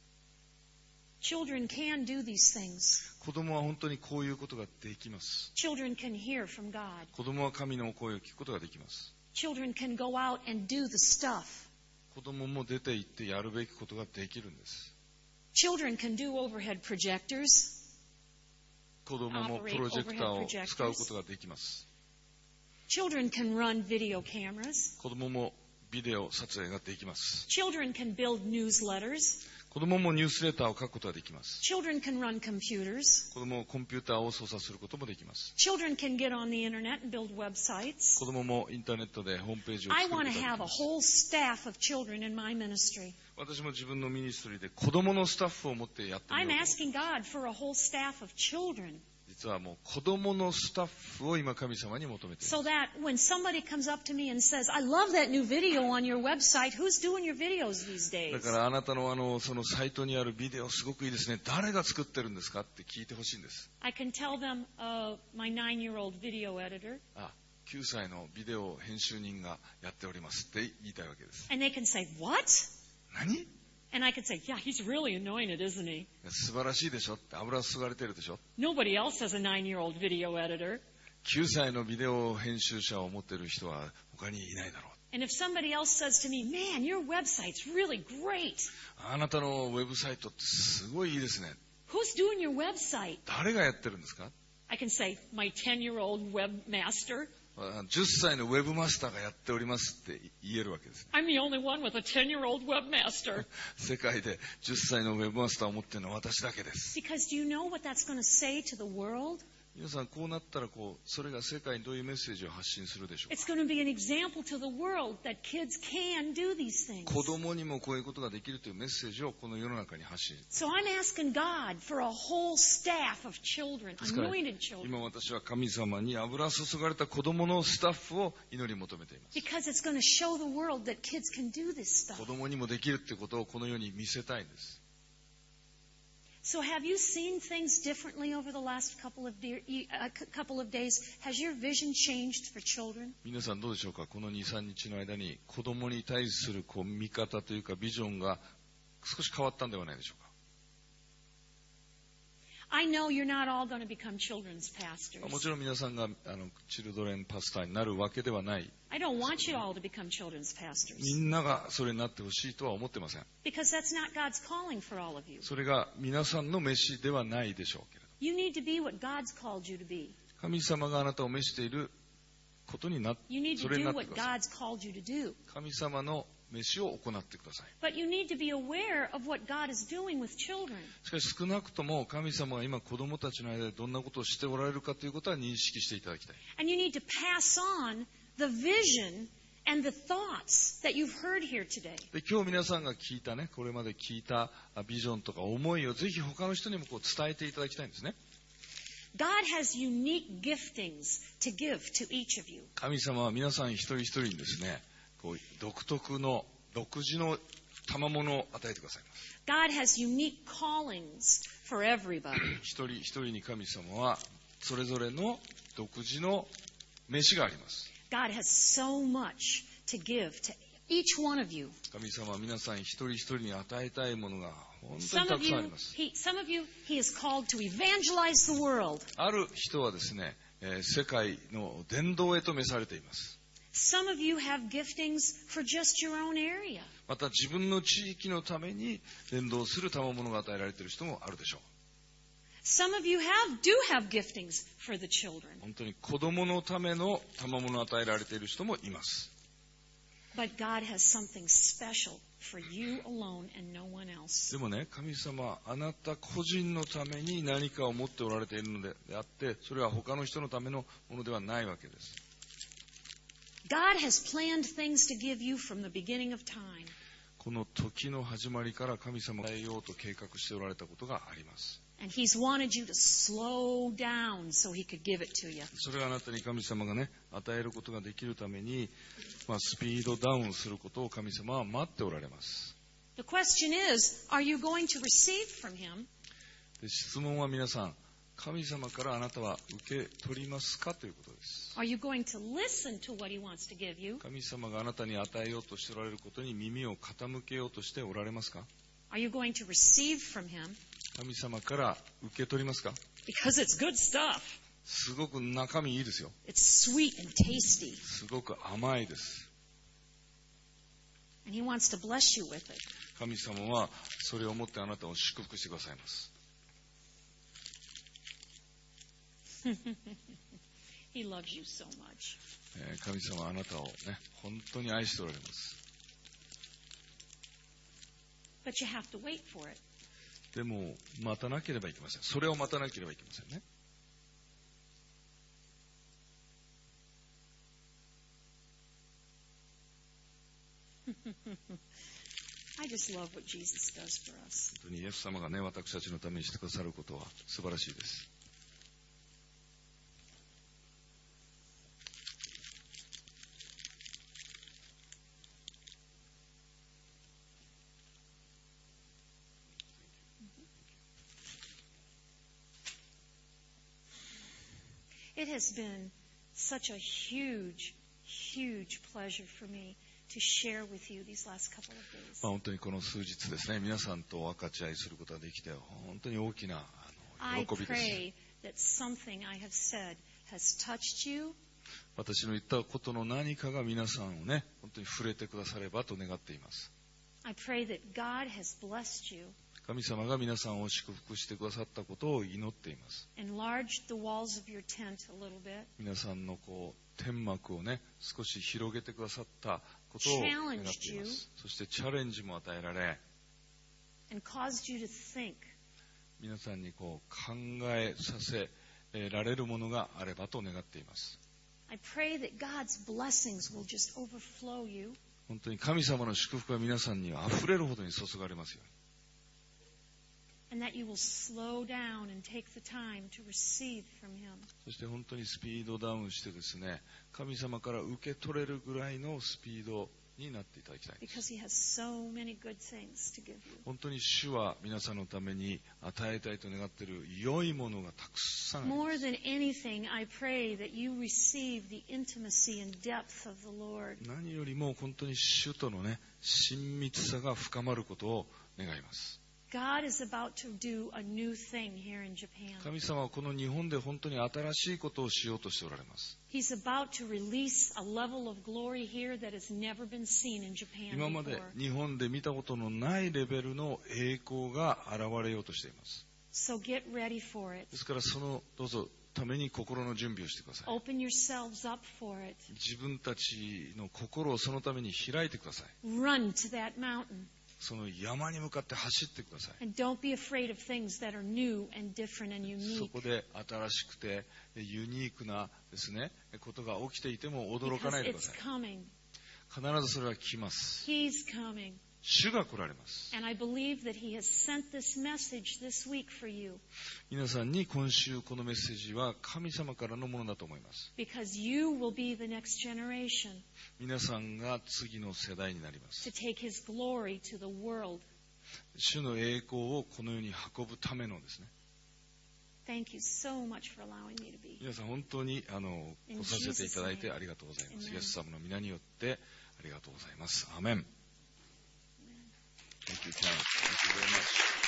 [SPEAKER 1] Children can do these things.
[SPEAKER 2] 子供は本当にこういうことができます。
[SPEAKER 1] Children can hear from God.
[SPEAKER 2] 子供は神の声を聞くことができます。
[SPEAKER 1] Children can go out and do the stuff.
[SPEAKER 2] 子供も出て行ってやるべきことができるんです。
[SPEAKER 1] Children can do overhead projectors.
[SPEAKER 2] 子供もプロジェクターを使うことができます。
[SPEAKER 1] Children can run video cameras.
[SPEAKER 2] 子供もビデオ撮影ができます。
[SPEAKER 1] Children can build newsletters.
[SPEAKER 2] 子供もニュースレターを書くことができます。
[SPEAKER 1] Children can run computers.
[SPEAKER 2] 子供もコンピューターを操作することもできます。
[SPEAKER 1] Children can get on the internet and build websites.
[SPEAKER 2] 子供もインターネットでホームページを
[SPEAKER 1] I
[SPEAKER 2] 作ること
[SPEAKER 1] want
[SPEAKER 2] が
[SPEAKER 1] to
[SPEAKER 2] でき
[SPEAKER 1] have a
[SPEAKER 2] ます。
[SPEAKER 1] whole staff of children in my ministry.
[SPEAKER 2] 私も自分のミニストリーで子供のスタッフを持ってやってみよ
[SPEAKER 1] I'm
[SPEAKER 2] うと思う。
[SPEAKER 1] asking God for a whole staff of children
[SPEAKER 2] 実はもう子供のスタッフを今神様に求めています。
[SPEAKER 1] so that when somebody comes up to me and says, I love that new video on your website, who's doing your videos these
[SPEAKER 2] だ
[SPEAKER 1] days?
[SPEAKER 2] からあなたのあのそのサイトにあるビデオすごくいいですね。誰が作ってるんですかって聞いてほしいんです。
[SPEAKER 1] I can tell them, uh, my nine-year-old video editor,
[SPEAKER 2] あ、きゅうさいのビデオ編集人がやっておりますって言いたいわけです。
[SPEAKER 1] and they can say, what?
[SPEAKER 2] 何？
[SPEAKER 1] And I could say, yeah, he's really anointed, isn't he?
[SPEAKER 2] 素晴らしいでしょって、油注がれてるでしょ。
[SPEAKER 1] Nobody else has a nine-year-old video editor.
[SPEAKER 2] きゅうさいのビデオ編集者を持ってる人は他にいないだろう。
[SPEAKER 1] And if somebody else says to me, man, your website's really great.
[SPEAKER 2] あなたのウェブサイトってすごいいいですね。
[SPEAKER 1] Who's doing your website?
[SPEAKER 2] 誰がやってるんですか？
[SPEAKER 1] I can say, my ten-year-old webmaster.
[SPEAKER 2] じゅっさいのウェブマスターがやっておりますって言えるわけです。
[SPEAKER 1] I'm the only one with a ten-year-old webmaster.
[SPEAKER 2] 世界でじゅっさいのウェブマスターを持っているのは私だけです。
[SPEAKER 1] Because do you know what that's going to say to the world?
[SPEAKER 2] 皆さんこうなったらこうそれが世界にどういうメッセージを発信するでしょう
[SPEAKER 1] It's going to be an example to the world that kids can do these things.
[SPEAKER 2] か。子供にもこういうことができるというメッセージをこの世の中に発信。
[SPEAKER 1] So I'm asking God for a whole staff of children,
[SPEAKER 2] ですから
[SPEAKER 1] anointed children.
[SPEAKER 2] 今私は神様に油注がれた子供のスタッフを祈り求めています。
[SPEAKER 1] Because it's going to show the world that kids can do this stuff.
[SPEAKER 2] 子供にもできるってことをこの世に見せたいんです。
[SPEAKER 1] So have you seen things differently over the last couple of, de- uh, couple of days? Has your vision changed for children?
[SPEAKER 2] 皆さんどうでしょうか。このに、さんにちの間に子供に対するこう見方というかビジョンが少し変わったんではないでしょうか。
[SPEAKER 1] I know you're not all going to become children's
[SPEAKER 2] も
[SPEAKER 1] pastors.
[SPEAKER 2] ちろん皆さんがあのチルドレンパスターになるわけではない。
[SPEAKER 1] I don't want you all to become children's
[SPEAKER 2] み
[SPEAKER 1] pastors.
[SPEAKER 2] んながそれになってほしいとは思ってません。
[SPEAKER 1] Because that's not God's calling for all of you.
[SPEAKER 2] それが皆さんの召しではないでしょうけれど。
[SPEAKER 1] You need to be what God's called you to be.
[SPEAKER 2] 神様があなたを召していることになって、
[SPEAKER 1] You need
[SPEAKER 2] そ
[SPEAKER 1] to
[SPEAKER 2] れに
[SPEAKER 1] do
[SPEAKER 2] なって
[SPEAKER 1] what
[SPEAKER 2] ください。
[SPEAKER 1] God's called you to do.
[SPEAKER 2] 神様の召しを行ってください。
[SPEAKER 1] But you need to be aware of what God is doing with children.
[SPEAKER 2] しかし少なくとも神様が今子供たちの間でどんなことをしておられるかということは認識していただきたい。
[SPEAKER 1] And you need to pass on the vision and the thoughts that you've heard here today.
[SPEAKER 2] で今日皆さんが聞いたね、これまで聞いたビジョンとか思いをぜひ他の人にもこう伝えていただきたいんですね。
[SPEAKER 1] God has unique giftings to give to each of you.
[SPEAKER 2] 神様は皆さん一人一人にですね、こう独特の独自の賜物を与えてくださいます。
[SPEAKER 1] God has unique callings for everybody.
[SPEAKER 2] 一人一人に神様はそれぞれの独自の召しがあります。
[SPEAKER 1] God has so much to give to each one of you.
[SPEAKER 2] 神様は皆さん一人一人に与えたいものが本当に
[SPEAKER 1] Some
[SPEAKER 2] た
[SPEAKER 1] of
[SPEAKER 2] くさんあ
[SPEAKER 1] you,
[SPEAKER 2] ります。
[SPEAKER 1] he, some of you, he is called to evangelize the world.
[SPEAKER 2] ある人はですね、えー世界の伝道へと召されています。
[SPEAKER 1] Some of you have giftings for just your own area.
[SPEAKER 2] また自分の地域のために伝道する賜物が与えられている人もあるでしょう。
[SPEAKER 1] Some of you have do have giftings for the children.
[SPEAKER 2] 本当に子供のための賜物を与えられている人もいます。
[SPEAKER 1] But God has something special for you alone and no one else.
[SPEAKER 2] でもね、神様はあなた個人のために何かを持っておられているのであって、それは他の人のためのものではないわけです。
[SPEAKER 1] God has planned things to give you from the beginning of time.
[SPEAKER 2] この時の始まりから神様が与えようと計画しておられたことがあります。
[SPEAKER 1] And He's wanted you to slow down so He could give it to you.
[SPEAKER 2] それはあなたに神様がね、与えることができるために、まあ、スピードダウンすることを神様は待っておられます。
[SPEAKER 1] The question is, are you going to receive from Him?
[SPEAKER 2] で、質問は皆さん、神様からあなたは受け取りますかということです。
[SPEAKER 1] Are you going to listen to what He wants to give you?
[SPEAKER 2] 神様があなたに与えようとしておられることに耳を傾けようとしておられますか？
[SPEAKER 1] Are you going to receive from Him?
[SPEAKER 2] 神様から受け取りますか？
[SPEAKER 1] Because it's good stuff.
[SPEAKER 2] すごく中身いいですよ。
[SPEAKER 1] It's sweet and tasty.
[SPEAKER 2] すごく甘いです。
[SPEAKER 1] And He wants to bless you with it.
[SPEAKER 2] 神様はそれをもってあなたを祝福してくださいます。
[SPEAKER 1] He loves you so much.
[SPEAKER 2] えー神様はあなたをね、本当に愛しておられます。
[SPEAKER 1] But you have to wait for it.
[SPEAKER 2] でも待たなければいけません。それを待たなければいけませんね。
[SPEAKER 1] I just love what Jesus does for us.
[SPEAKER 2] 本当にイエス様がね、私たちのためにしてくださることは素晴らしいです。
[SPEAKER 1] It has been such a huge, huge pleasure for me to share with you these last couple of days.
[SPEAKER 2] まあ、本当にこの数日ですね、皆さんと分かち合いすることができて、本当に大きなあの
[SPEAKER 1] I
[SPEAKER 2] 喜びです。
[SPEAKER 1] pray that something I have said has touched you,
[SPEAKER 2] 私の言ったことの何かが皆さんをね、本当に触れてくださればと願っています。
[SPEAKER 1] I pray that God has blessed you,
[SPEAKER 2] 神様が皆さんを祝福してくださったことを祈っています。
[SPEAKER 1] enlarged the walls of your tent a little bit,
[SPEAKER 2] 皆さんのこう天幕をね、少し広げてくださったことを願っています。そしてチャレンジも与えられ、
[SPEAKER 1] and caused you to think.
[SPEAKER 2] 皆さんにこう考えさせられるものがあればと願っています。
[SPEAKER 1] I pray that God's blessings will just overflow you,
[SPEAKER 2] 本当に神様の祝福が皆さんにあふれるほどに注がれますように。
[SPEAKER 1] and that you will slow down and take the time to receive from Him.
[SPEAKER 2] そして本当にスピードダウンしてですね、神様から受け取れるぐらいのスピードになっていただきたいです。
[SPEAKER 1] Because He has so many good things to give you.
[SPEAKER 2] 本当に主は皆さんのために与えたいと願っている良いものがたくさんありま
[SPEAKER 1] More
[SPEAKER 2] す。
[SPEAKER 1] than anything, I pray that you receive the intimacy and depth of the Lord.
[SPEAKER 2] 何よりも本当に主とのね、親密さが深まることを願います。
[SPEAKER 1] God is about to do a new thing here in Japan.
[SPEAKER 2] 神様はこの日本で本当に新しいことをしようとしておられます。
[SPEAKER 1] He's about to release a level of glory here that has never been seen in Japan
[SPEAKER 2] 今まで
[SPEAKER 1] before.
[SPEAKER 2] 日本で見たことのないレベルの栄光が現れようとしています。
[SPEAKER 1] So get ready for it.
[SPEAKER 2] ですからそのどうぞために心の準備をしてください。
[SPEAKER 1] Open yourselves up for it.
[SPEAKER 2] 自分たちの心をそのために開いてください。
[SPEAKER 1] Run to that mountain.
[SPEAKER 2] その山に向かって走ってください。
[SPEAKER 1] And don't be afraid of things that are new and different and
[SPEAKER 2] そ
[SPEAKER 1] unique.
[SPEAKER 2] こで新しくてユニークなですね、ことが起きていても驚か
[SPEAKER 1] Because
[SPEAKER 2] ないでくだ
[SPEAKER 1] it's
[SPEAKER 2] さい。
[SPEAKER 1] coming.
[SPEAKER 2] 必ずそれは来ます。
[SPEAKER 1] He's coming.
[SPEAKER 2] 主が来られます。
[SPEAKER 1] And I believe that He has sent this message this week for you.
[SPEAKER 2] 皆さんに今週このメッセージは神様からのものだと思います。
[SPEAKER 1] Because you will be the next generation
[SPEAKER 2] 皆さんが次の世代になりま
[SPEAKER 1] to
[SPEAKER 2] す。
[SPEAKER 1] take His glory to the world.
[SPEAKER 2] 主の栄光をこの世に運ぶためのですね。
[SPEAKER 1] Thank you so much for allowing me to be here.
[SPEAKER 2] 皆さん本当にあの来させていただいてありがとうございます。
[SPEAKER 1] Amen.
[SPEAKER 2] イエス様の皆によってありがとうございます。アーメン。Thank you, Karen. Thank you very much.